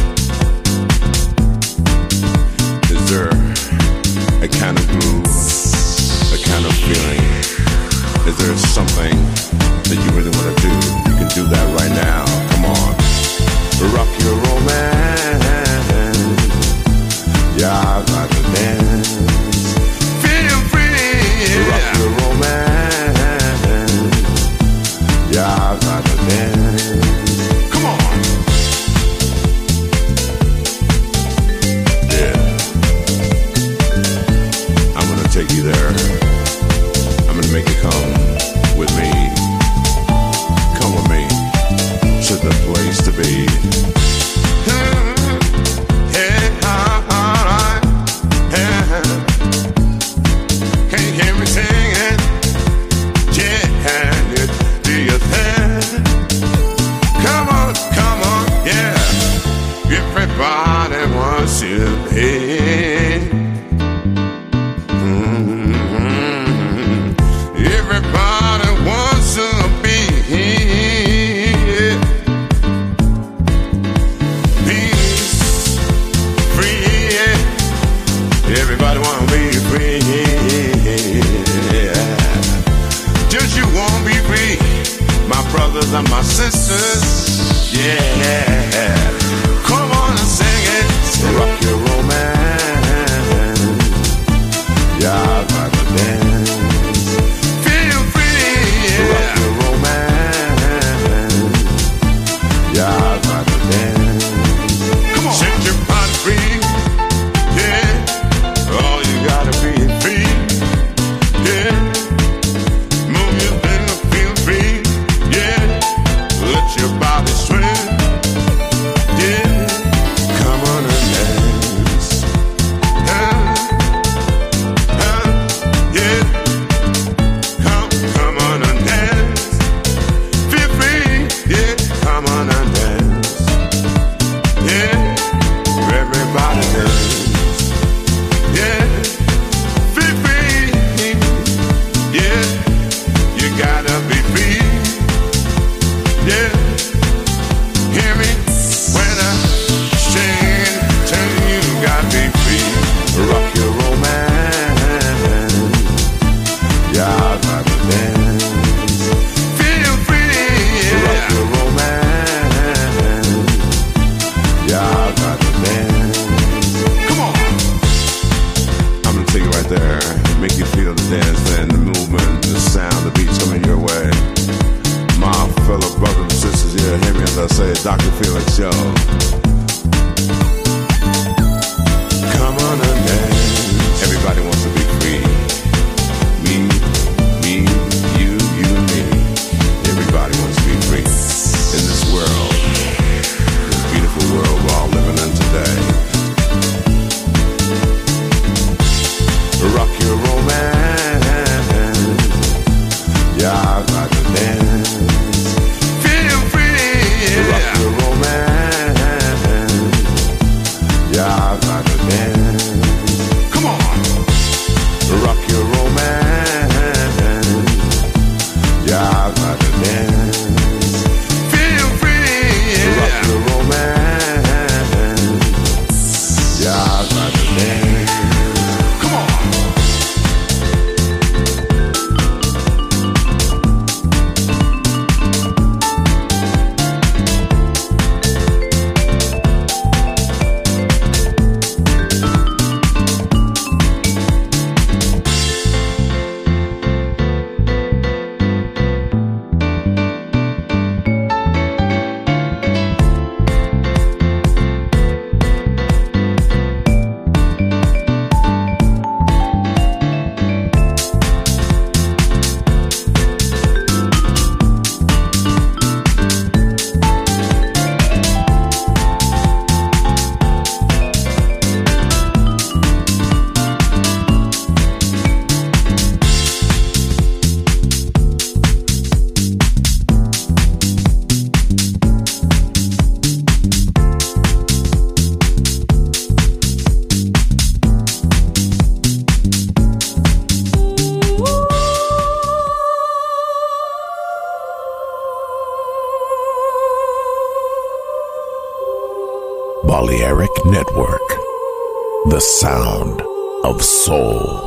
Is there a kind of groove, a kind of feeling? Is there something that you really want to do? You can do that right now. Come on. Rock your romance. Yeah, I like to dance. Feel free. Rock your romance. Yeah, I like to dance. Come on. Yeah. I'm gonna take you there. I'm gonna make you come with me. Come with me to the place to be. Can you hear me singing? Yeah, do your thing. Come on, come on, yeah. Everybody wants you, babe. Mm-hmm. Everybody wants to be peace, free. Everybody wanna be free. Just you wanna be free, my brothers and my sisters. Yeah, come on and sing it. Rock your romance. Yeah, I like to dance. Feel free. Yeah. Rock your romance. Yeah, I like to dance. Come on, set your body free. Yeah, all you gotta be is free. Yeah, move your finger, feel free. Yeah, let your body swing. Yeah, come on and dance. Huh? Huh? Yeah, come, come on and dance. Feel free. Yeah, come on and dance. Yeah, everybody dance. Yeah, feel free. Yeah, you gotta be free. Yeah, hear me when I sing. Tell you you gotta be free. Rock your romance. Yeah, I gotta dance. Feel free. Yeah. Rock your romance. Yeah, I gotta dance. Come on. I'm gonna take you right there, make you feel the dance and the movement, the sound, the beats coming your way. My fellow brothers and sisters here, hear me as I say, Doctor Felix, yo. Come on and dance. Everybody wants to be free. Me, me, you, you and me. Everybody wants to be free in this world, this beautiful world we're all living in today. Rock your romance. Yeah, I like to dance. Feel free. Rock your romance. Yeah, I like to dance. Come on. Balearic Network, the sound of soul.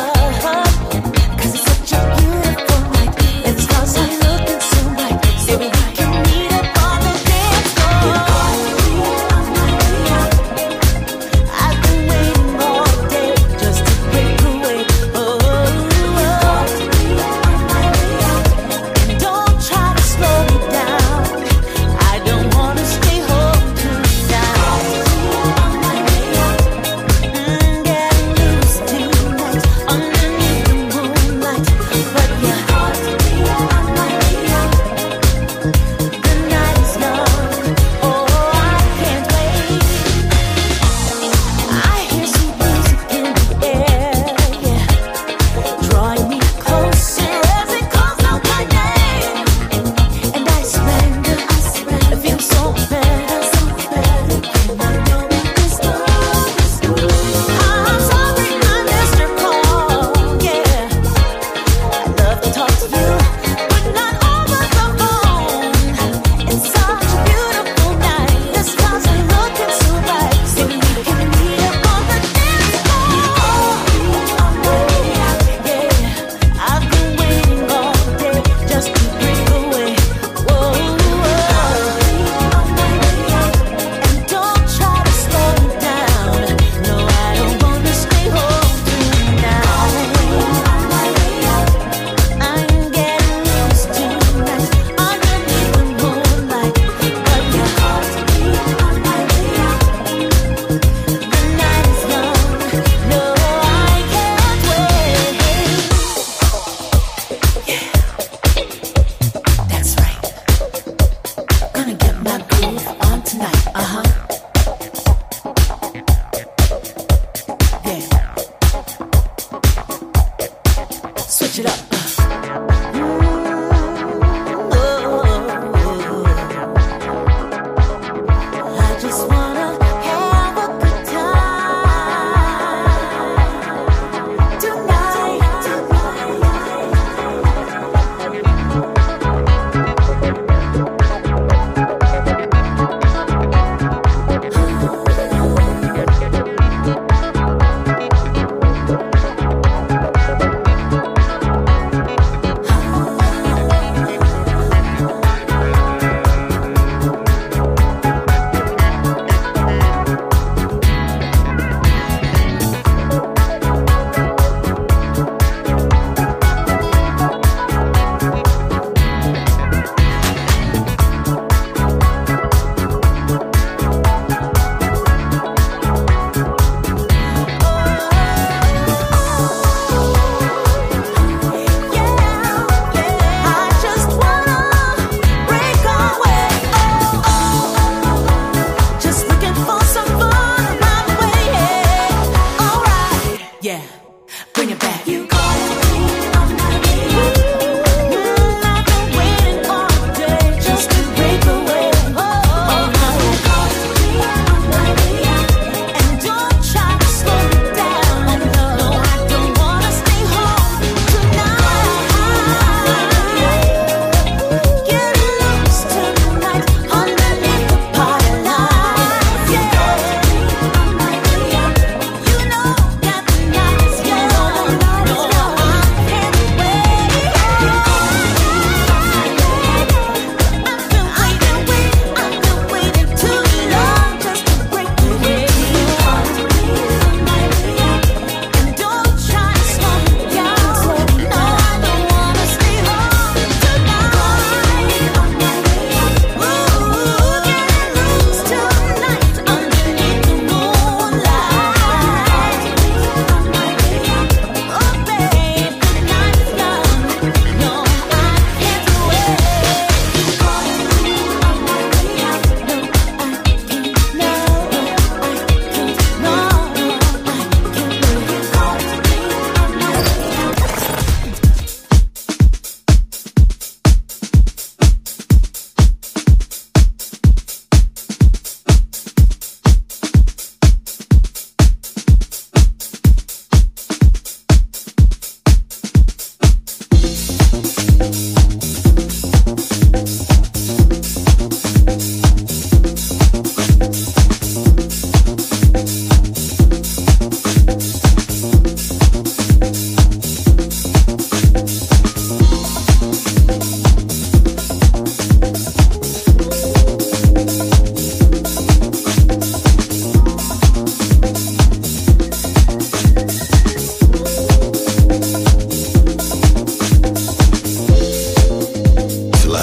Baby,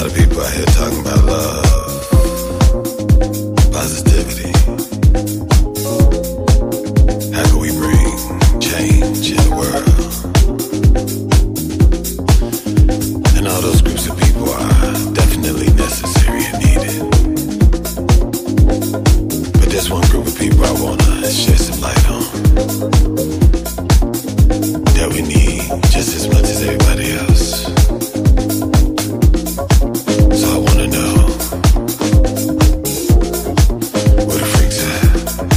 lot of people out here talking about love, positivity. How can we bring change in the world? And all those groups of people are definitely necessary and needed. But there's one group of people I wanna shed some light on, that we need just as much as everybody else. So I wanna know where the freaks at.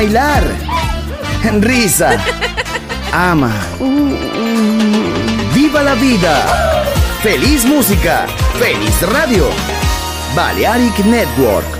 bailar, risa, ama, viva la vida, feliz música, feliz radio, Balearic Network.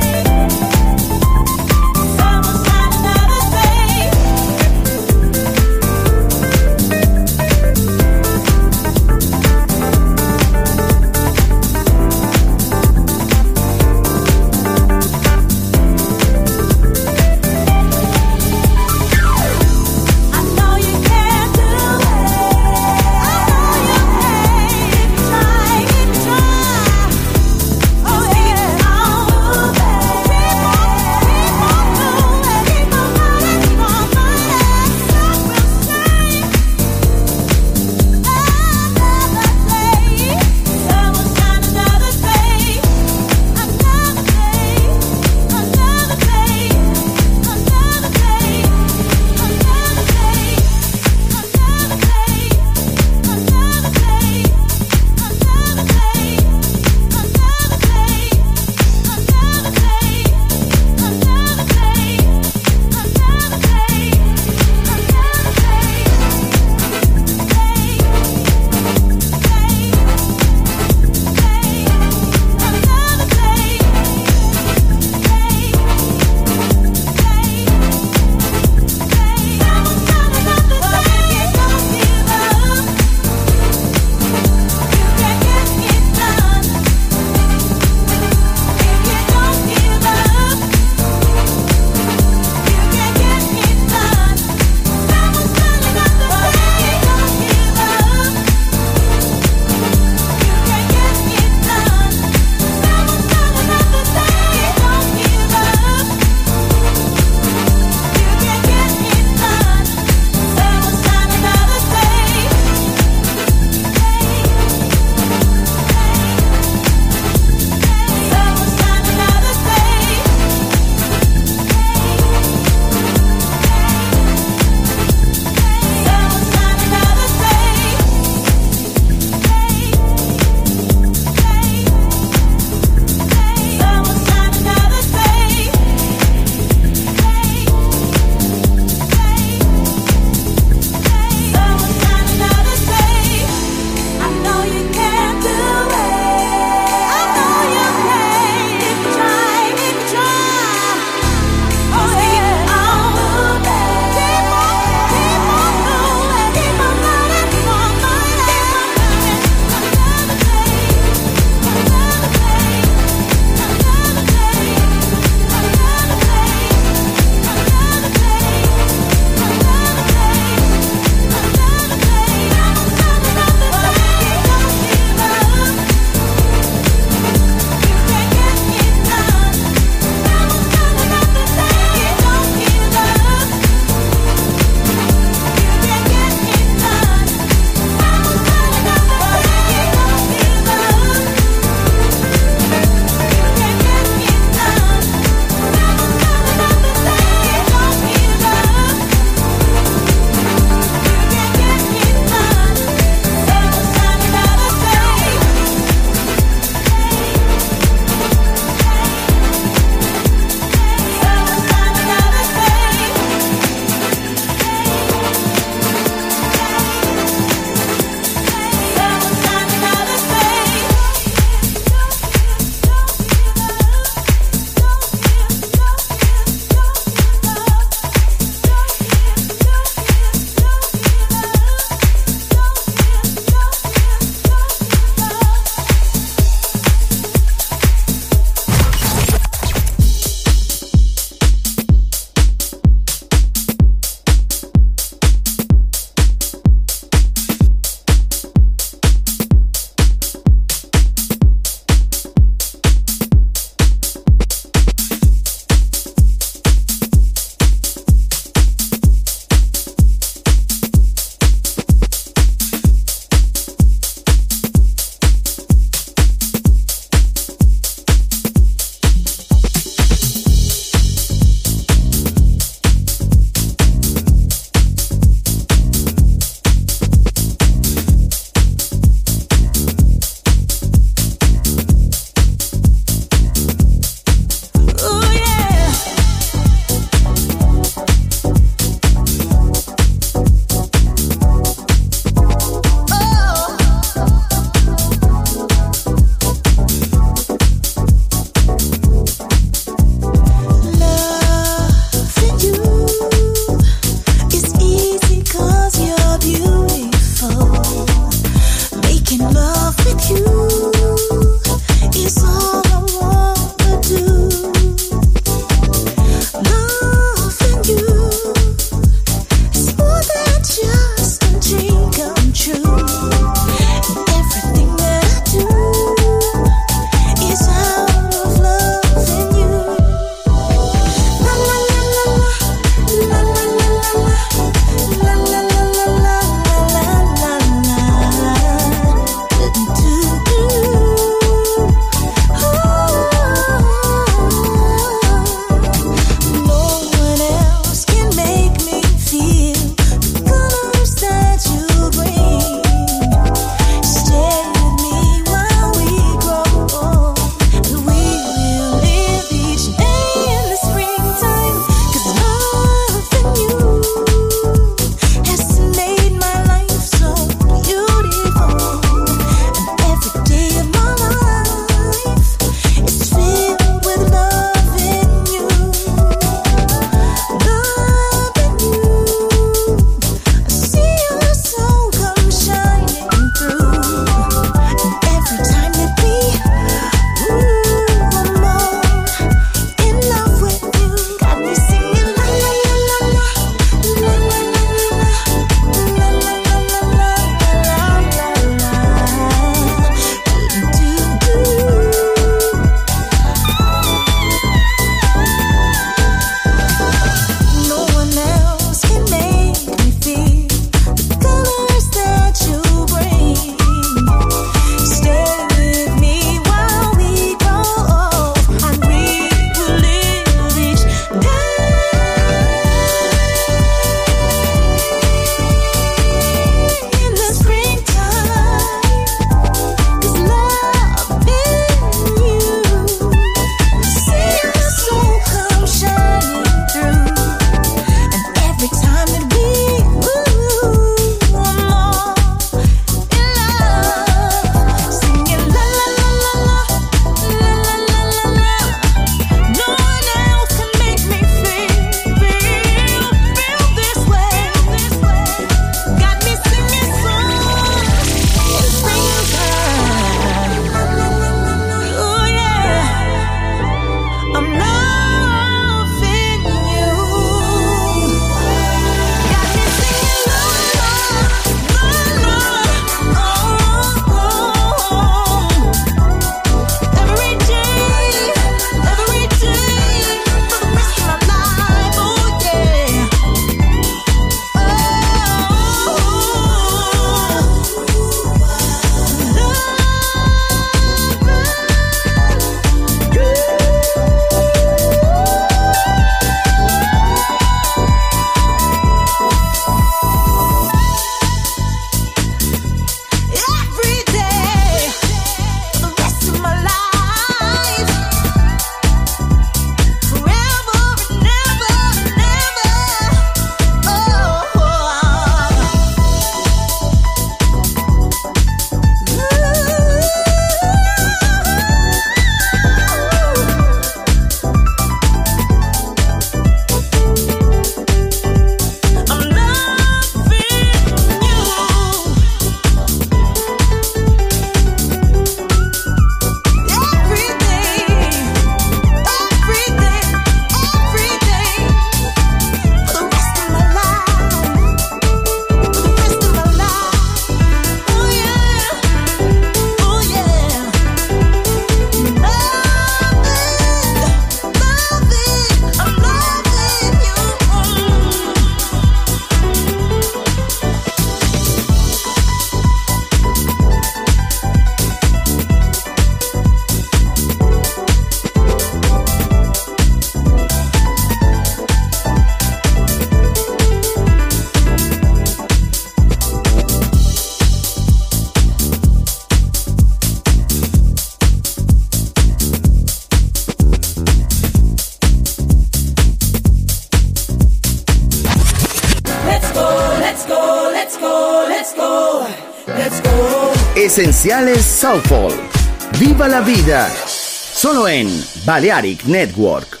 let's go, let's go, let's go. Esenciales Soulful. Viva la vida. Solo en Balearic Network.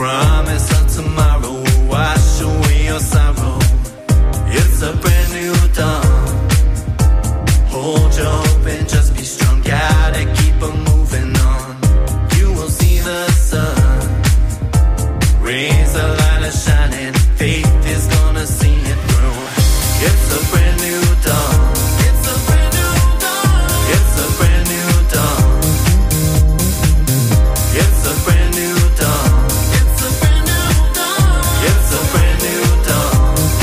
promise of tomorrow will wash away your sorrow. It's a brand new dawn. Hold your hope and just be strong. Gotta keep on moving on. You will see the sun. Rays of light are shining. Faith is gonna see it through. It's a brand new dawn. It's a brand new dawn. It's a brand new dawn. It's a brand new dawn. It's a brand new dawn. It's a brand new dawn.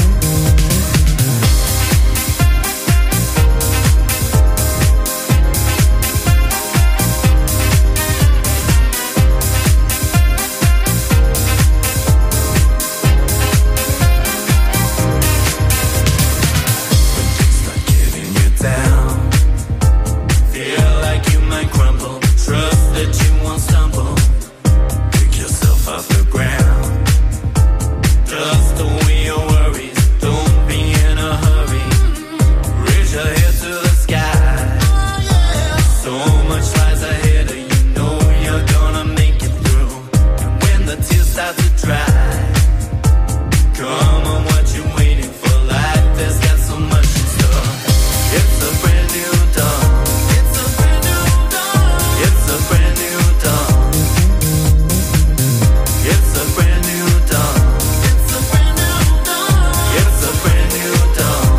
Down. Feel like you might crumble. Trust that you won't stumble. Pick yourself off the ground. Just away your worries. Don't be in a hurry. Raise your head to the sky. So much lies ahead of you. Know you're gonna make it through. And when the tears start to dry, come on, what you waiting for? Life has got so much in store. It's a brand new dawn. It's a brand new dawn. It's a brand new dawn. It's a brand new dawn. It's a brand new dawn. It's a brand new dawn.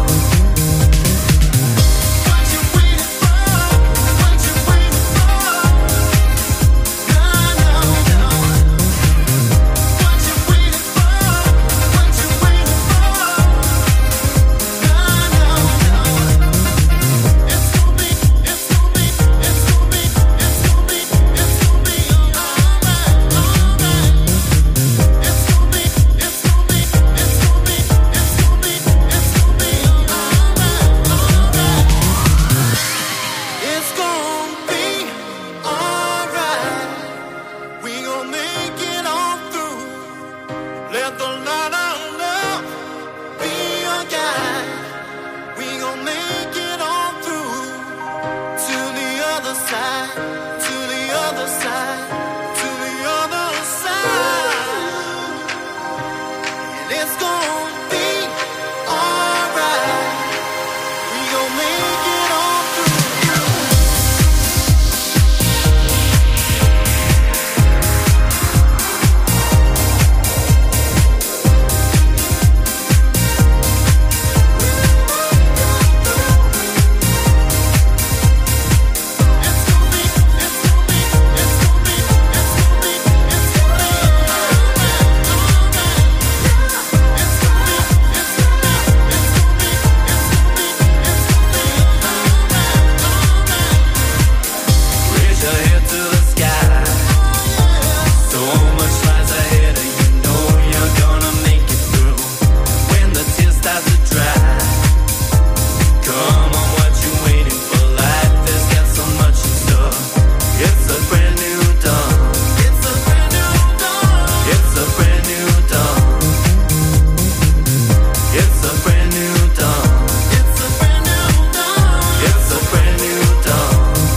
What you waiting for? What you waiting for? No, no, no. What you waiting for? What you waiting for? No, no, no. It's gonna be, it's gonna be, it's gonna be, it's gonna be, it's gonna be alright, alright. It's gonna be, it's gonna be, it's gonna be, it's gonna be, it's gonna be alright, alright. It's gonna be alright. We gonna make it all through. Let the light of love be your guide. We gon' make it all through. To the other side, to the other side, to the other side. And it's gon' be alright. We gon' make it all through. Raise your head to the sky. So much lies ahead of you. Know you're gonna make it through. When the tears start to dry, come on, what you waiting for? Life has got so much in store. It's a brand new dawn. It's a brand new dawn. It's a brand new dawn. It's a brand new dawn. It's a brand new dawn. It's a brand new dawn.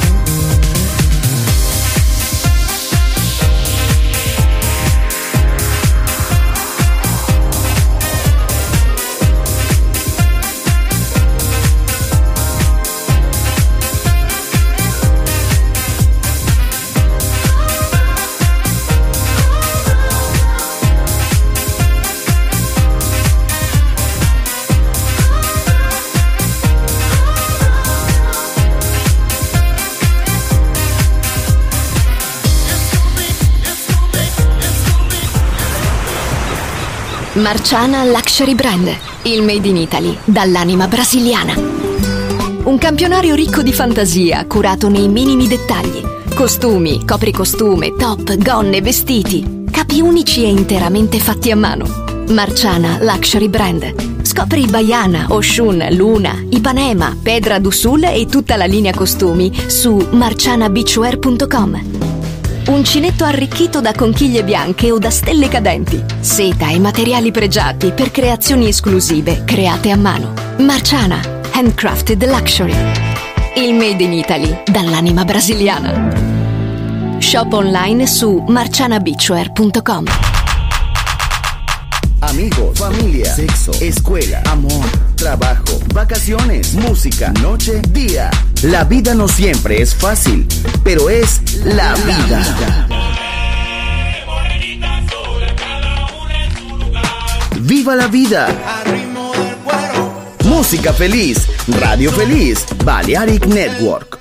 Marciana Luxury Brand, il made in Italy dall'anima brasiliana. Un campionario ricco di fantasia, curato nei minimi dettagli. Costumi, copricostume, top, gonne, vestiti. Capi unici e interamente fatti a mano. Marciana Luxury Brand. Scopri Baiana, Oshun, Luna, Ipanema, Pedra do Sul e tutta la linea costumi su marciana beachwear punto com. Uncinetto arricchito da conchiglie bianche o da stelle cadenti. Seta e materiali pregiati per creazioni esclusive create a mano. Marciana, handcrafted luxury. Il made in Italy dall'anima brasiliana. Shop online su marciana beachwear punto com. amigos, familia, sexo, escuela, amor, trabajo, vacaciones, música, noche, día. La vida no siempre es fácil, pero es la vida. ¡Viva la vida! Música feliz, radio feliz, Balearic Network.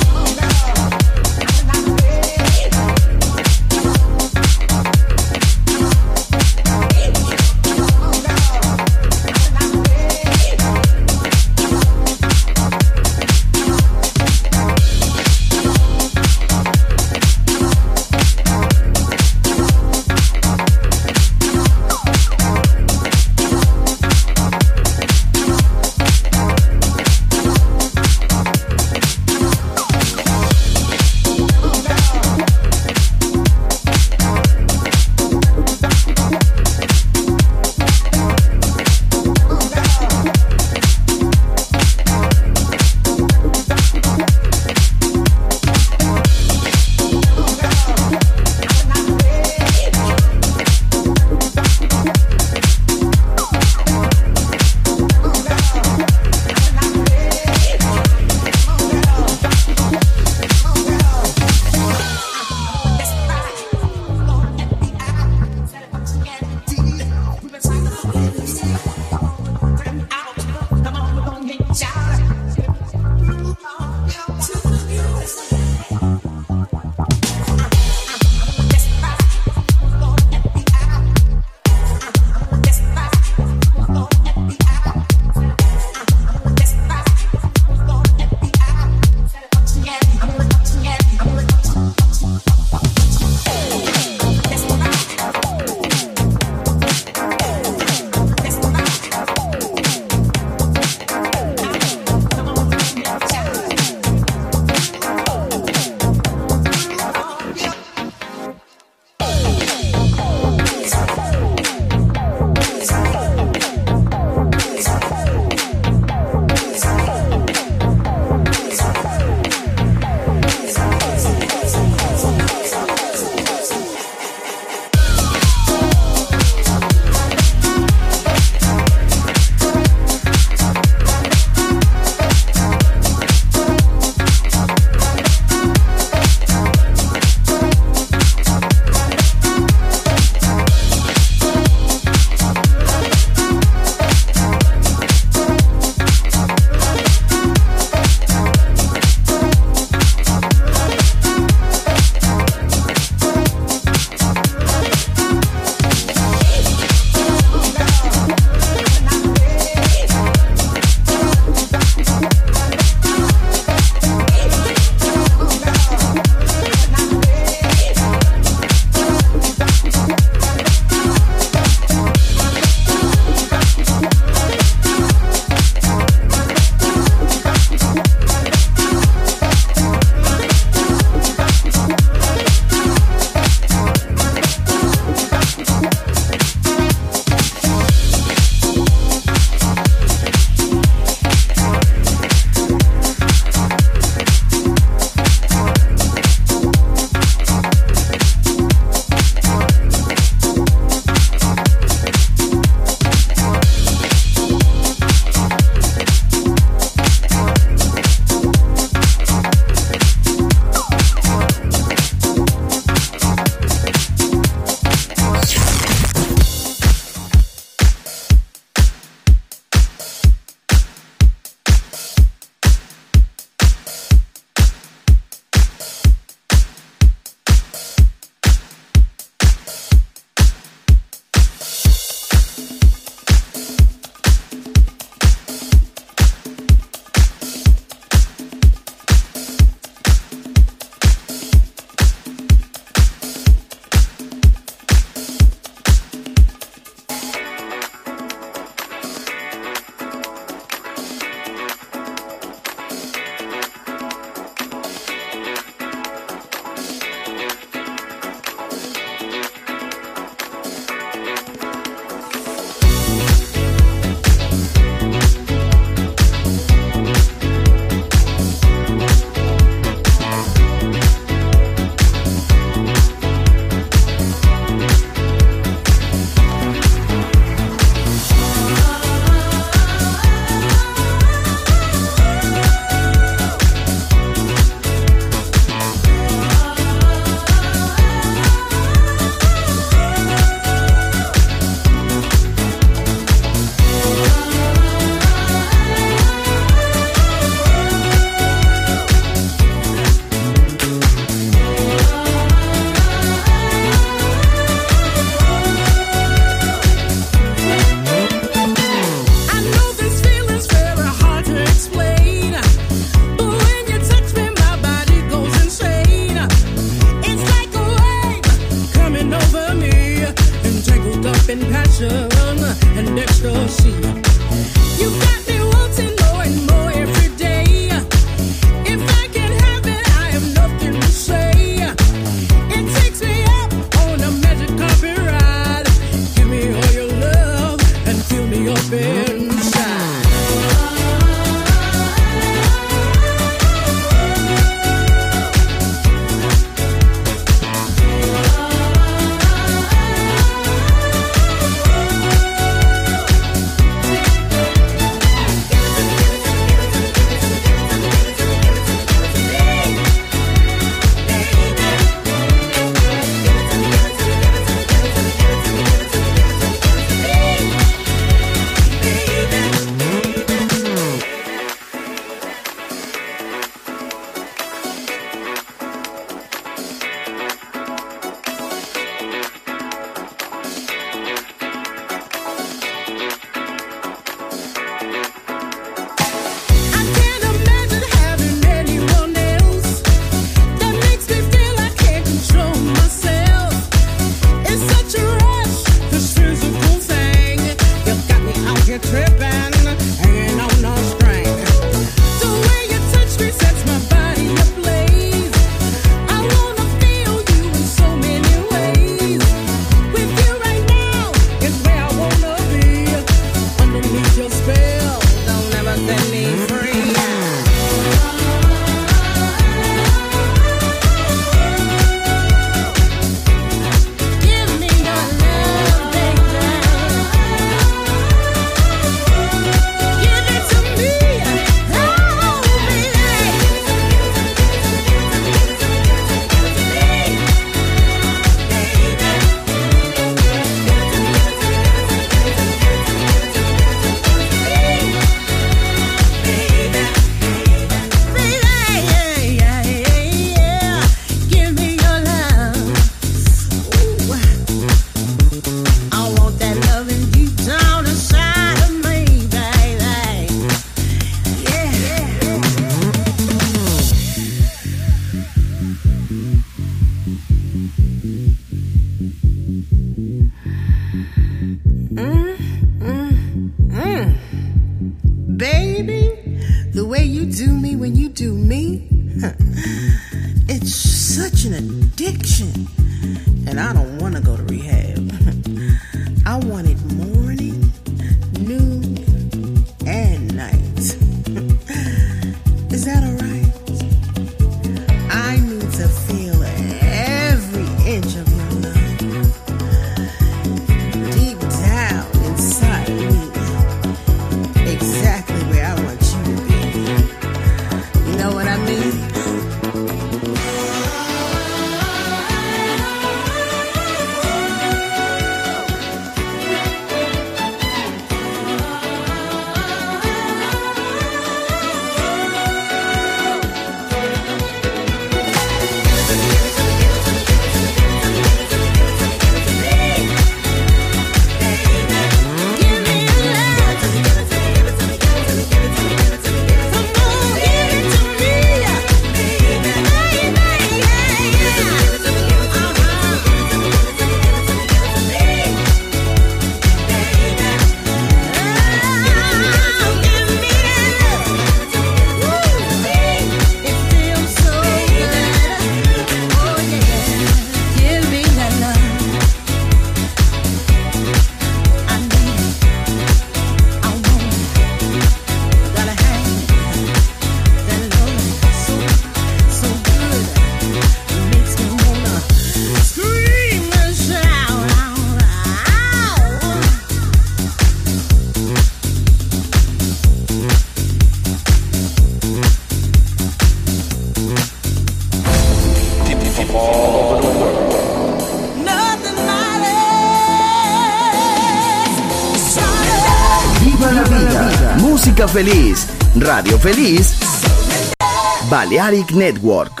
música feliz, radio feliz, Balearic Network.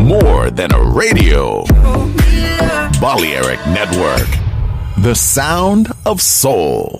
more than a radio. Balearic Network, the sound of soul.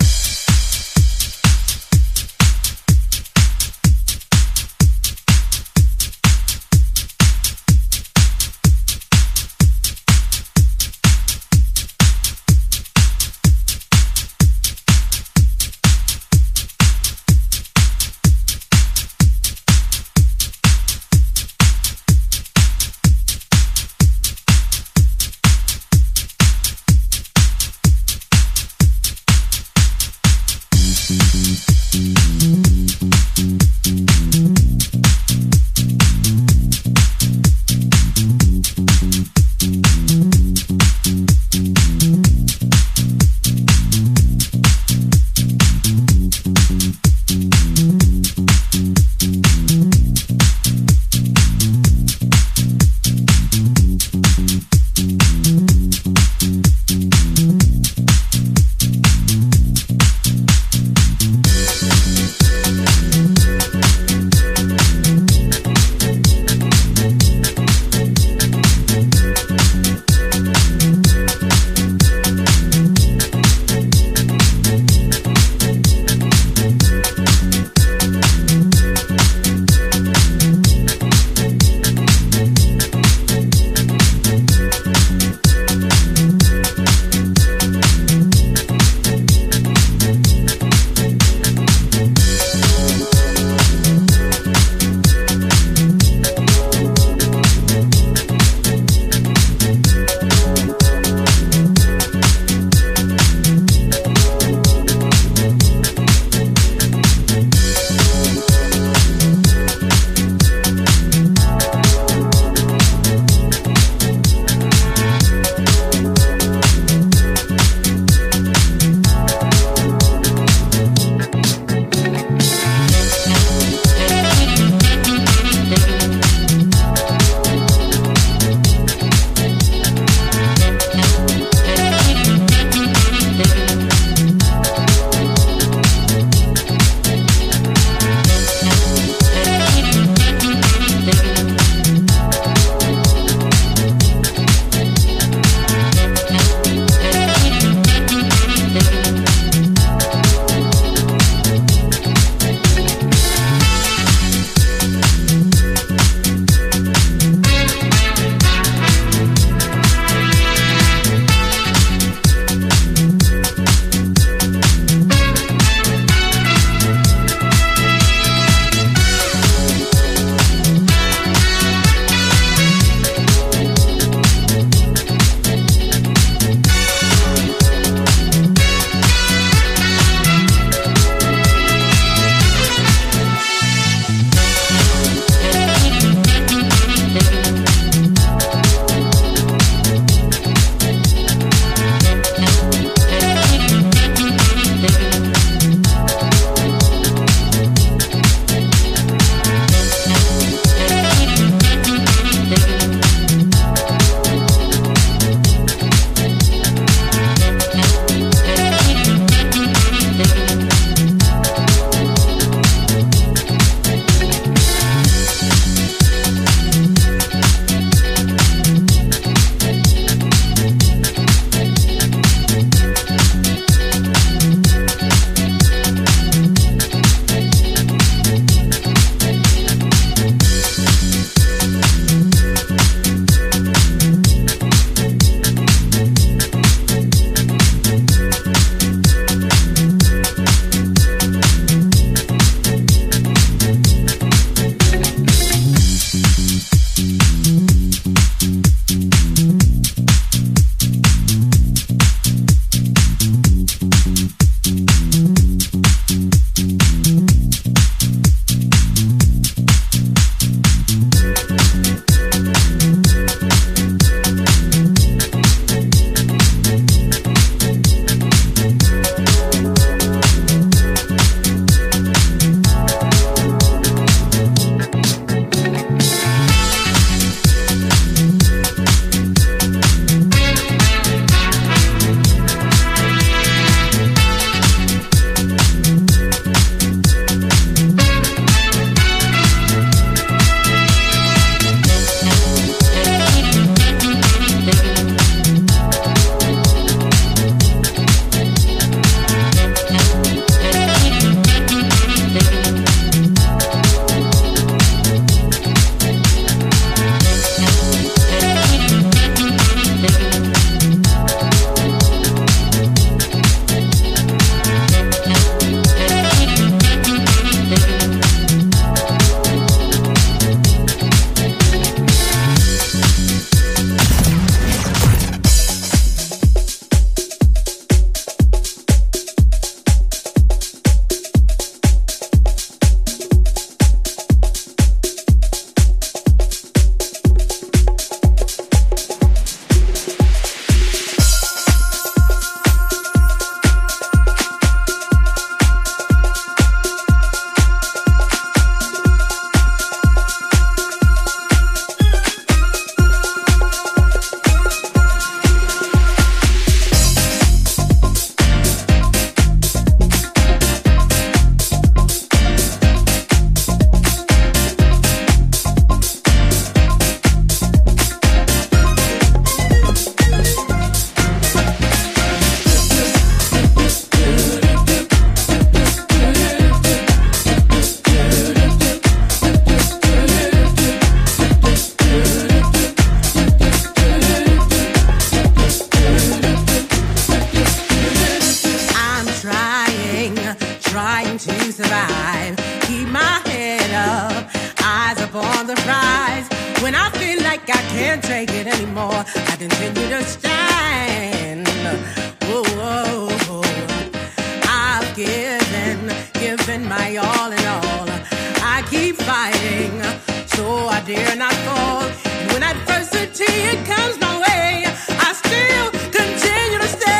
feel like I can't take it anymore. I continue to stand. Whoa, whoa, whoa. I've given, given my all and all. I keep fighting, so I dare not fall. And when adversity comes my way, I still continue to stand.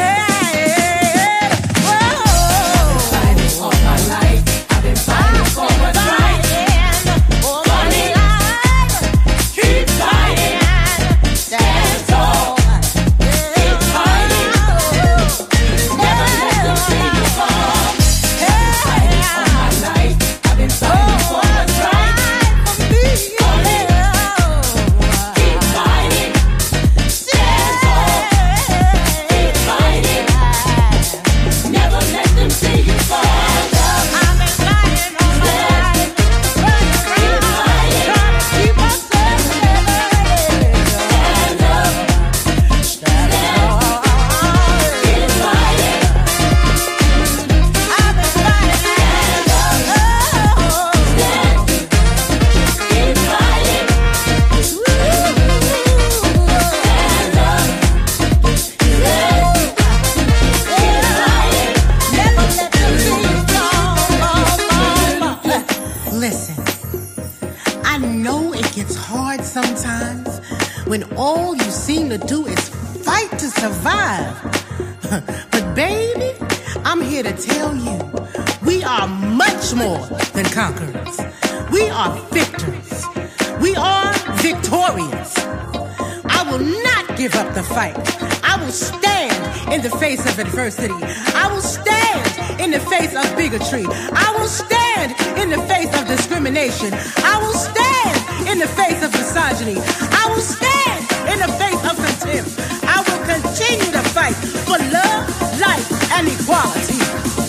When all you seem to do is fight to survive. But baby, I'm here to tell you, we are much more than conquerors. We are victors. We are victorious. I will not give up the fight. I will stand in the face of adversity. I will stand in the face of bigotry. I will stand in the face of discrimination. I will stand in the face of misogyny. I will stand in the face of contempt. I will continue to fight for love, life, and equality.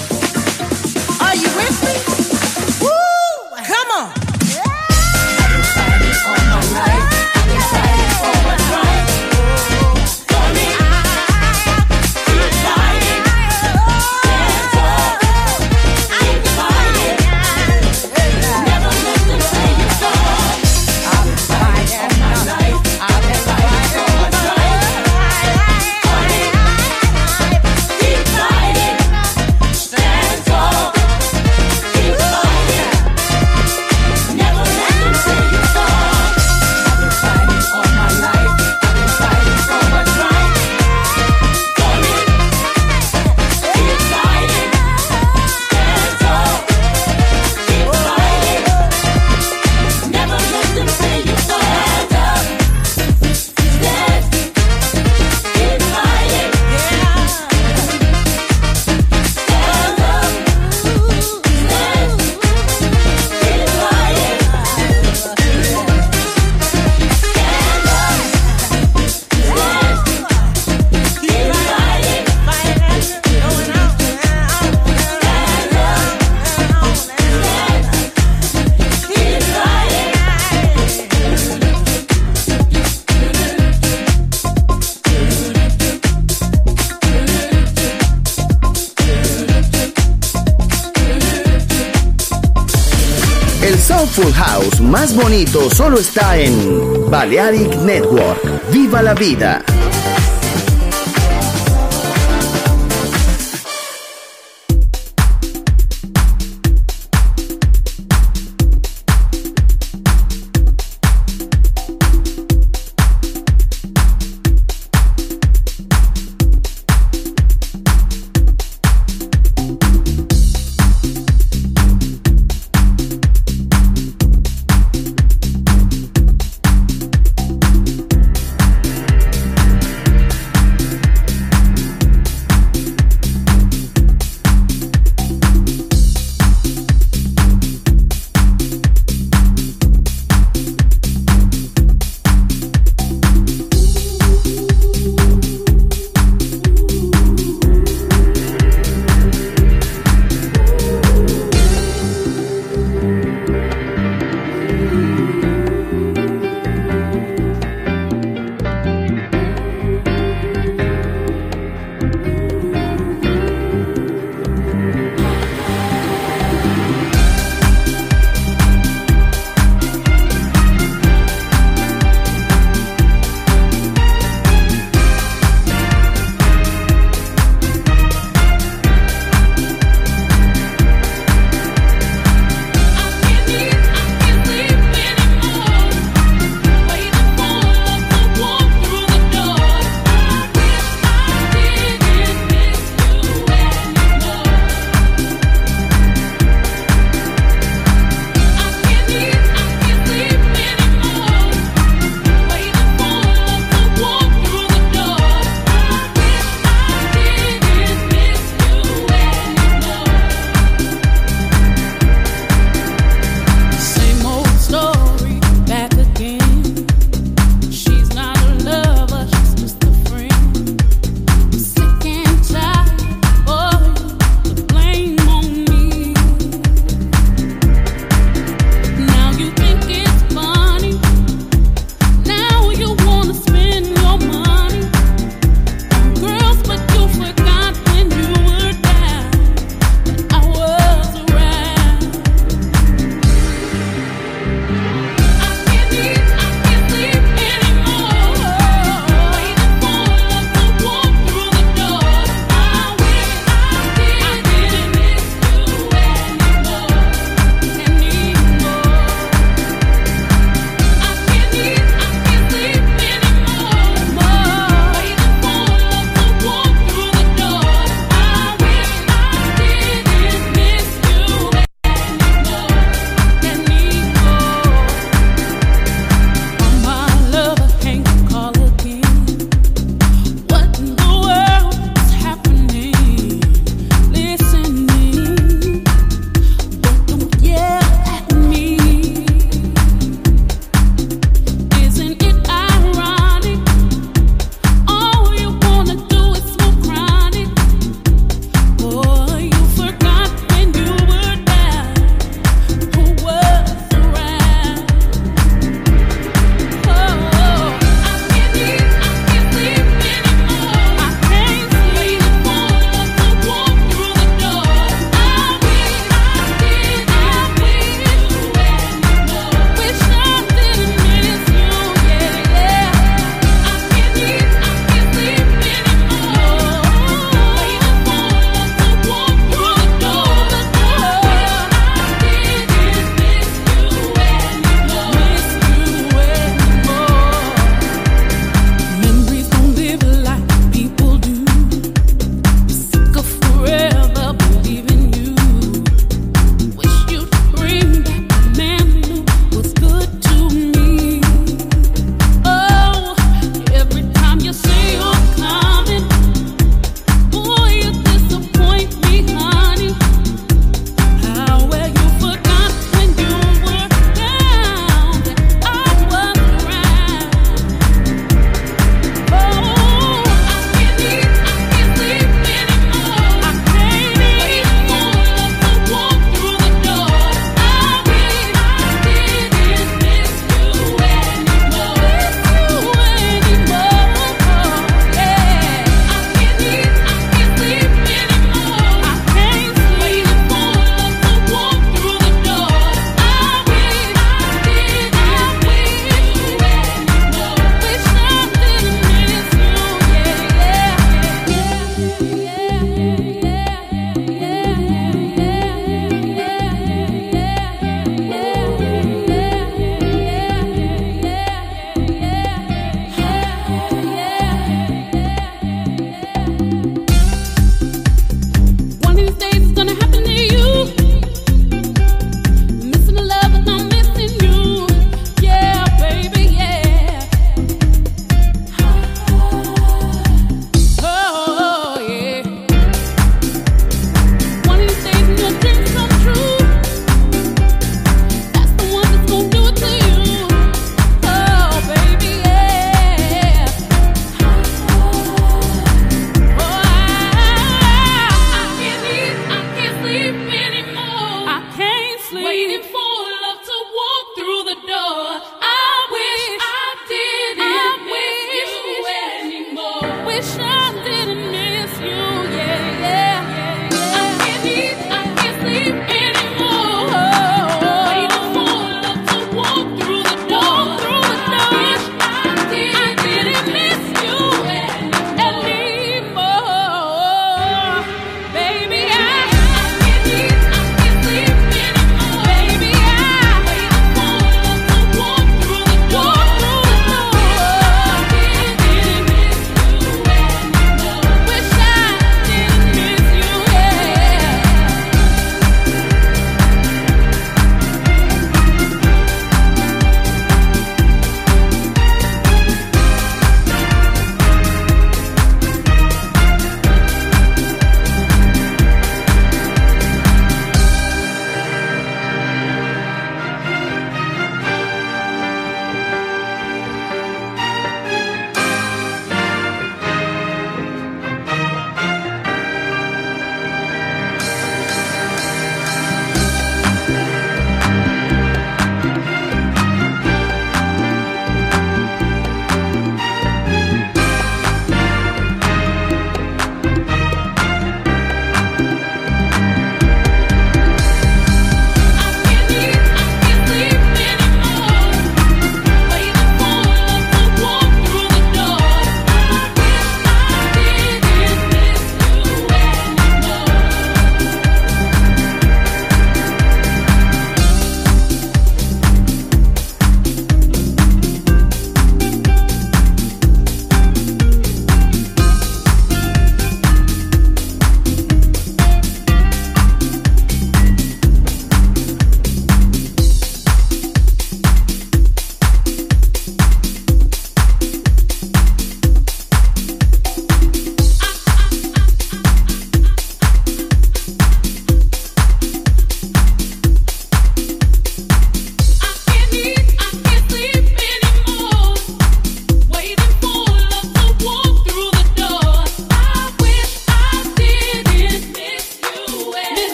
Are you with me? Woo! Come on. I've been fighting all my life. I've been fighting for what's right. For me, keep fighting. Stand tall. Keep fighting. Never let them say you fall. I've been fighting all my life. I've been fighting for what's right. For me, keep fighting. Stand tall. Keep fighting. Never let them say you fall. I've been fighting all my life. I've been fighting for what's right. For me, keep fighting. Stand tall. Keep fighting. Never let them say you fall. Stand up. Stand. Keep fighting. Stand up. Stand. Keep fighting. El Soulful House más bonito solo está en Balearic Network. ¡Viva la vida!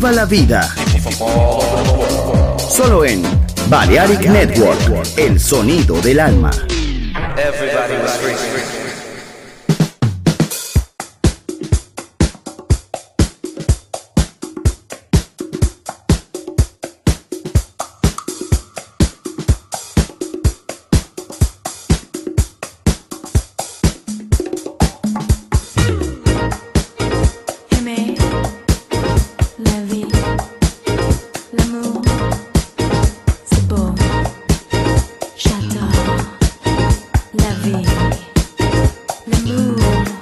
Viva la vida. Solo en Balearic Network, el sonido del alma. Everybody was free. Aimer la vie, l'amour, c'est beau. J'adore la vie, l'amour.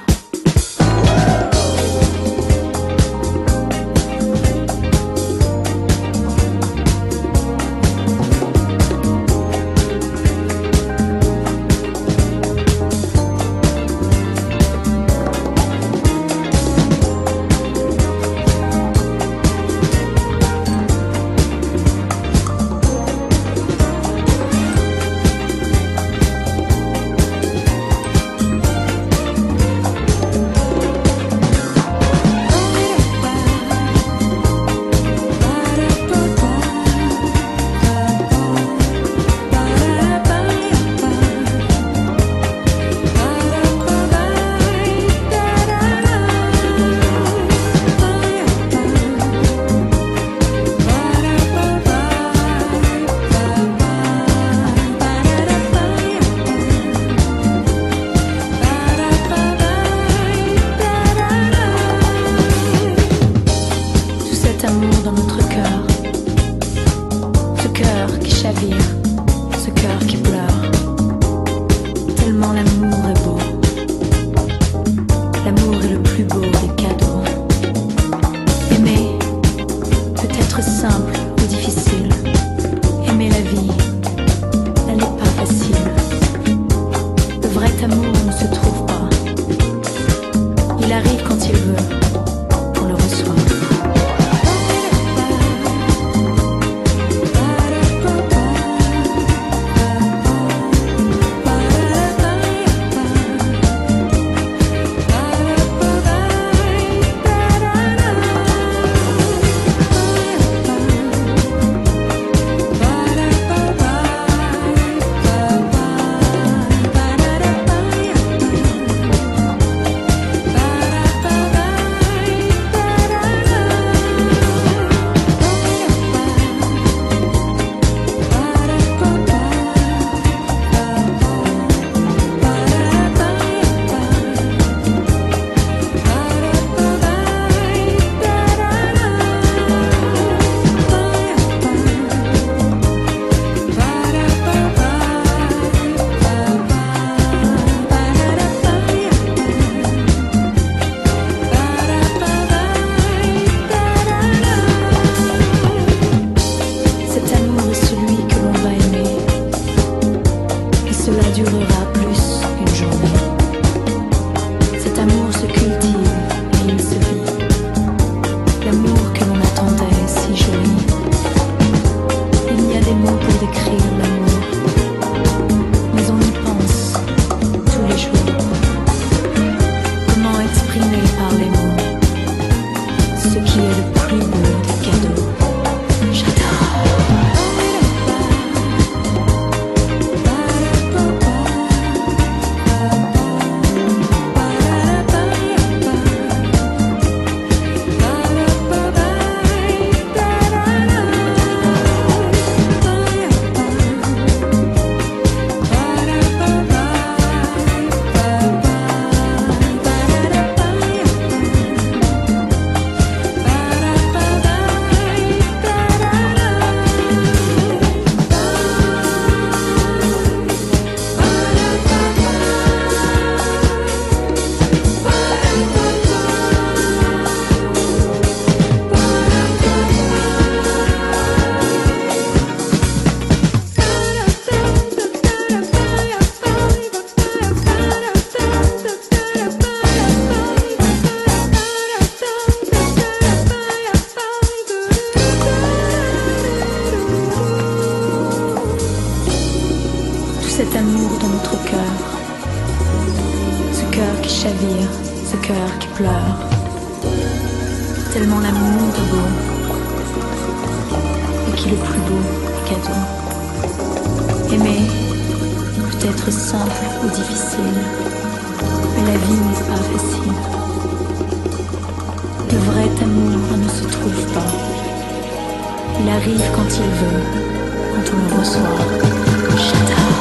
Tout cet amour dans notre cœur, ce cœur qui chavire, ce cœur qui pleure, tellement l'amour est beau. L'amour est le plus beau des cadeaux. Aimer peut être simple ou difficile. Aimer la vie, elle n'est pas facile. Le vrai amour ne se trouve pas. Il arrive quand il veut, on le reçoit. Cet amour est celui que l'on va aimer, et cela durera plus qu'une journée. Cet amour se cultive et il se vit. L'amour que l'on attendait est si joli. Il n'y a des mots pour décrire l'amour, mais on y pense tous les jours. Comment exprimer par les mots ce qui est le plus beau des cadeaux? J'adore. Cet amour dans notre cœur, ce cœur qui chavire, ce cœur qui pleure, tellement l'amour est beau. qui est le plus beau des cadeaux. Aimer peut être simple ou difficile, mais la vie n'est pas facile. Le vrai amour ne se trouve pas. Il arrive quand il veut, quand on le reçoit. J'adore.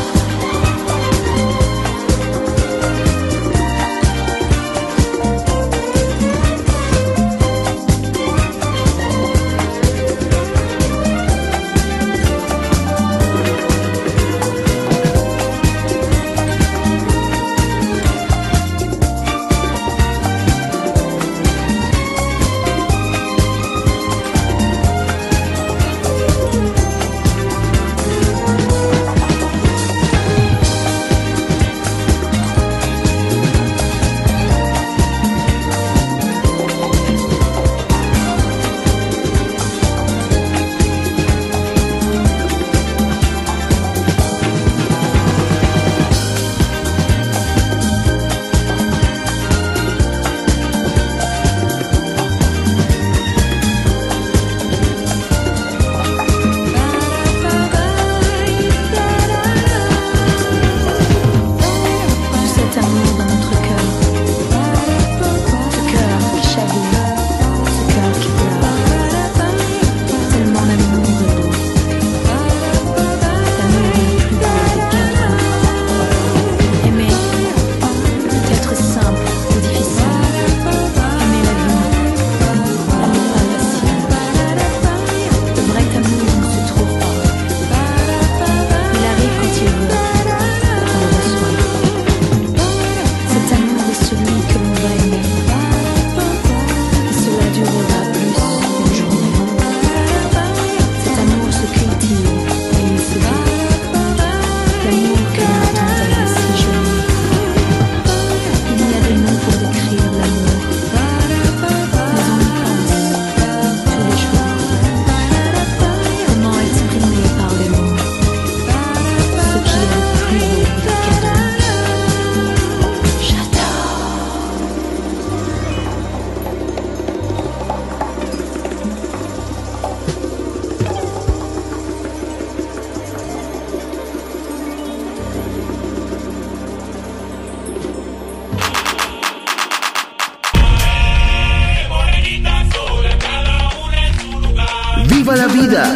¡Viva la vida!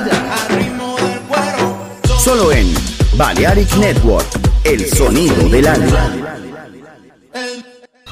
Solo en Balearic Network, el sonido del alma.